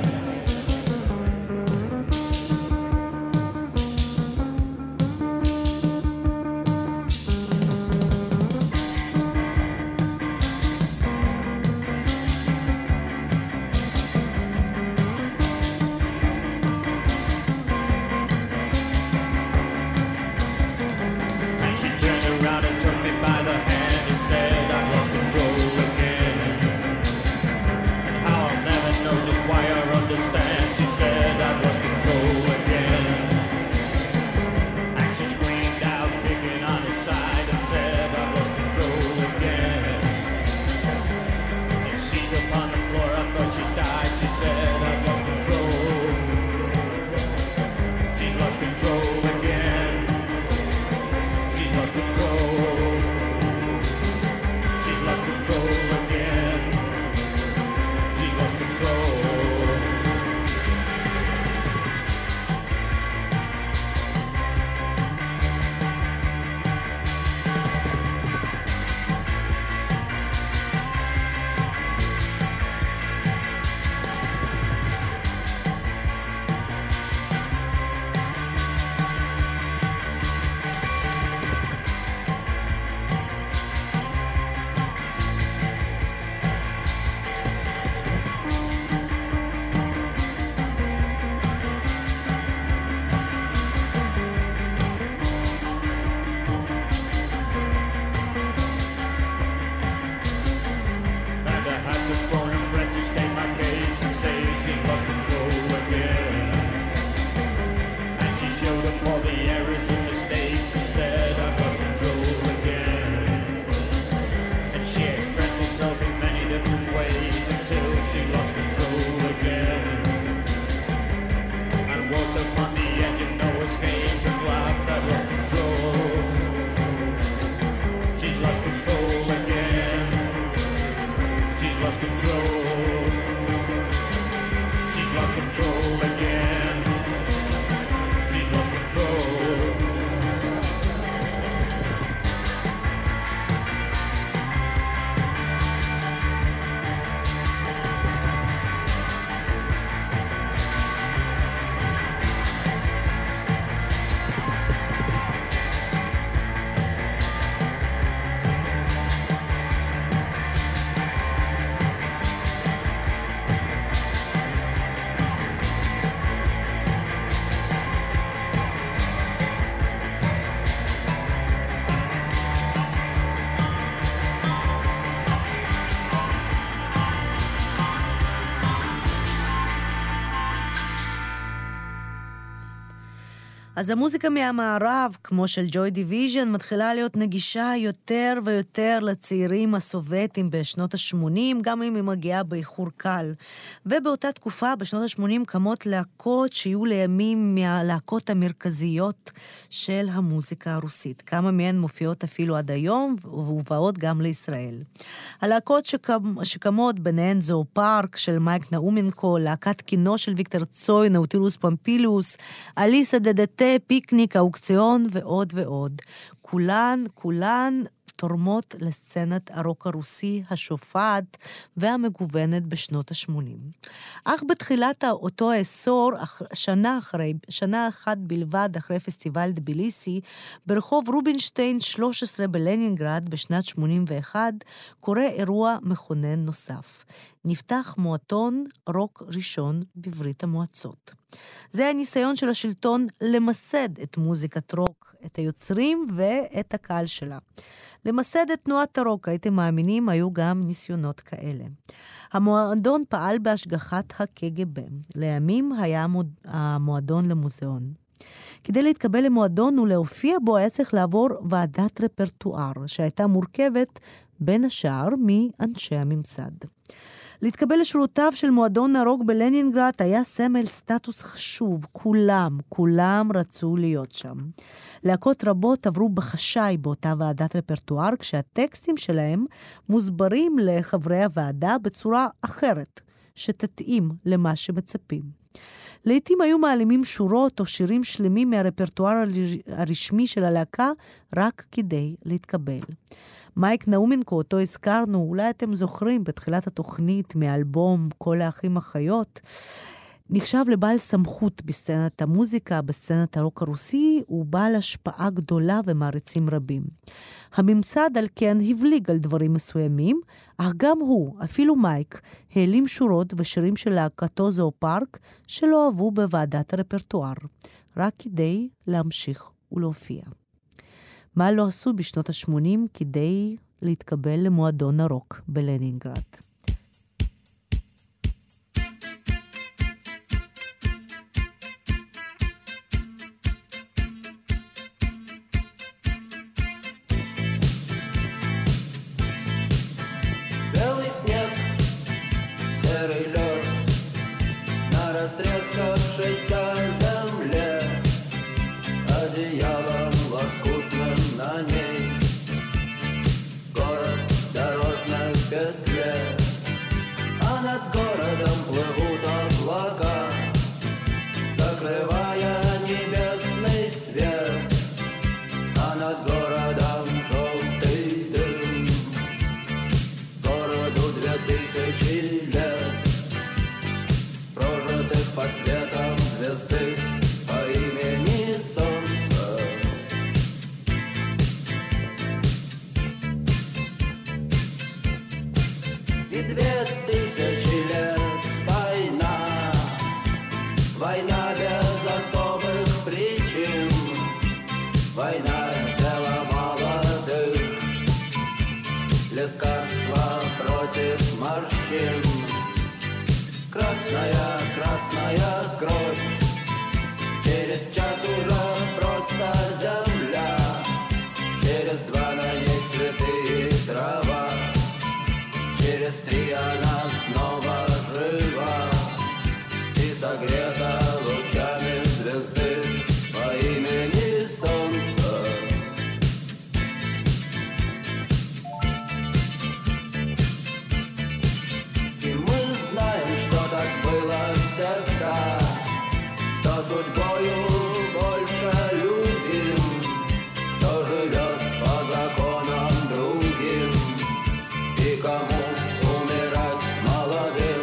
אז המוזיקה מהמערב, כמו של ג'וי דיוויז'ן, מתחילה להיות נגישה יותר ויותר לצעירים הסובייטים בשנות ה-שמונים, גם אם היא מגיעה באיחור קל. ובאותה תקופה, בשנות ה-שמונים, קמות להקות שיהיו לימים מהלהקות המרכזיות של המוזיקה הרוסית. כמה מהן מופיעות אפילו עד היום, ובאות גם לישראל. הלהקות שקמ... שקמות ביניהן זו פארק של מייק נאומנקו, להקת קינו של ויקטור צוי, נאוטילוס פמפילוס, אליסה דדתה, קפה, פיקניק, אוקציון ועוד ועוד. כולן, כולן תורמות לסצנת הרוק הרוסי השופעת והמגוונת בשנות ה-שמונים. אך בתחילת אותו העשור, שנה אחרי, שנה אחת בלבד אחרי פסטיבל דביליסי, ברחוב רובינשטיין שלוש עשרה בלנינגרד בשנת שמונים ואחת, קורה אירוע מכונן נוסף. נפתח מועדון רוק ראשון בברית המועצות. זה הניסיון של השלטון למסד את מוזיקת רוק, את היוצרים ואת הקהל שלה. למסד את תנועת הרוק, הייתם מאמינים, היו גם ניסיונות כאלה. המועדון פעל בהשגחת ה-קג"ב. לימים היה המועדון למוזיאון. כדי להתקבל למועדון ולהופיע בו היה צריך לעבור ועדת רפרטואר, שהייתה מורכבת בין השאר מאנשי הממסד. להתקבל לשורותיו של מועדון הרוק בלנינגרד היה סמל סטטוס חשוב. כולם, כולם רצו להיות שם. להקות רבות עברו בחשאי באותה ועדת רפרטואר, כשהטקסטים שלהם מוסברים לחברי הוועדה בצורה אחרת, שתתאים למה שמצפים. לעתים היו מעלימים שורות או שירים שלמים מהרפרטואר הרשמי של הלהקה רק כדי להתקבל. מייק נאומנקו, אותו הזכרנו, אולי אתם זוכרים בתחילת התוכנית מאלבום כל האחים החיות, נחשב לבעל סמכות בסצנת המוזיקה, בסצנת הרוק הרוסי, הוא בעל השפעה גדולה ומעריצים רבים. הממסד על כן הבליג על דברים מסוימים, אך גם הוא, אפילו מייק, העלים שורות ושירים של להקתו זואופארק שלא אהבו בוועדת הרפרטואר, רק כדי להמשיך ולהופיע. מה לא עשו בשנות ה-שמונים כדי להתקבל למועדון הרוק בלנינגרד? Умирать молодым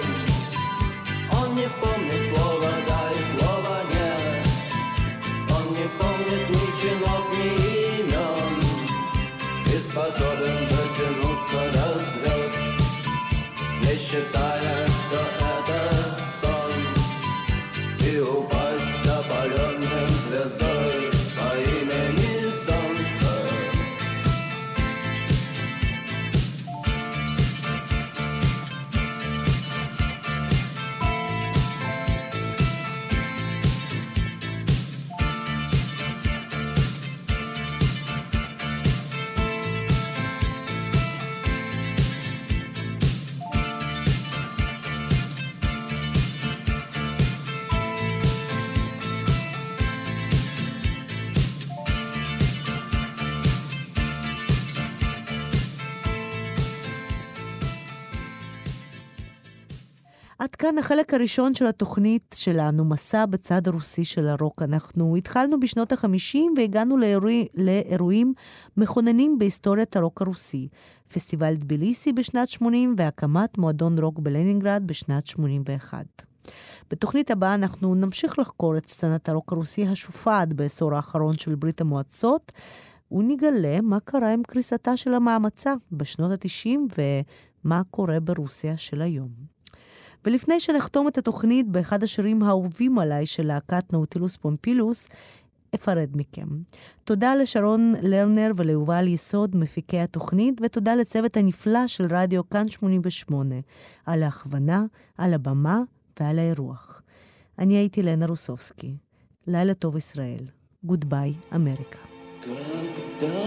עד כאן החלק הראשון של התוכנית שלנו, מסע בצד הרוסי של הרוק. אנחנו התחלנו בשנות ה-חמישים והגענו לאירוע, לאירועים מכוננים בהיסטוריית הרוק הרוסי. פסטיבל טביליסי בשנת שמונים והקמת מועדון רוק בלנינגרד בשנת שמונים ואחת. בתוכנית הבאה אנחנו נמשיך לחקור את סצנת הרוק הרוסי השופעת בעשור האחרון של ברית המועצות, ונגלה מה קרה עם קריסתה של המאמצה בשנות ה-תשעים ומה קורה ברוסיה של היום. ולפני שנחתום את התוכנית באחד השירים האהובים עליי של להקת נאוטילוס פומפילוס, אפרד מכם. תודה לשרון לרנר וליובל יסוד מפיקי התוכנית, ותודה לצוות הנפלא של רדיו כאן שמונים ושמונה, על ההכוונה, על הבמה ועל האירוח. אני הייתי לנה רוסובסקי. לילה טוב ישראל. גודביי אמריקה. Когда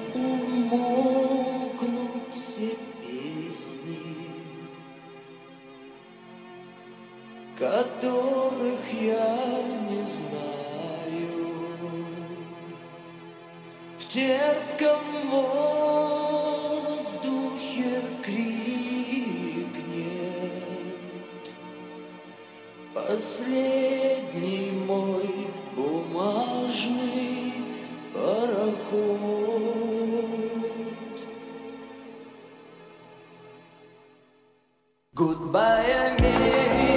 умолкнут все песни, которых я не знаю, в терпком воздухе крикнет последний мой бумажный пароход. Goodbye, America.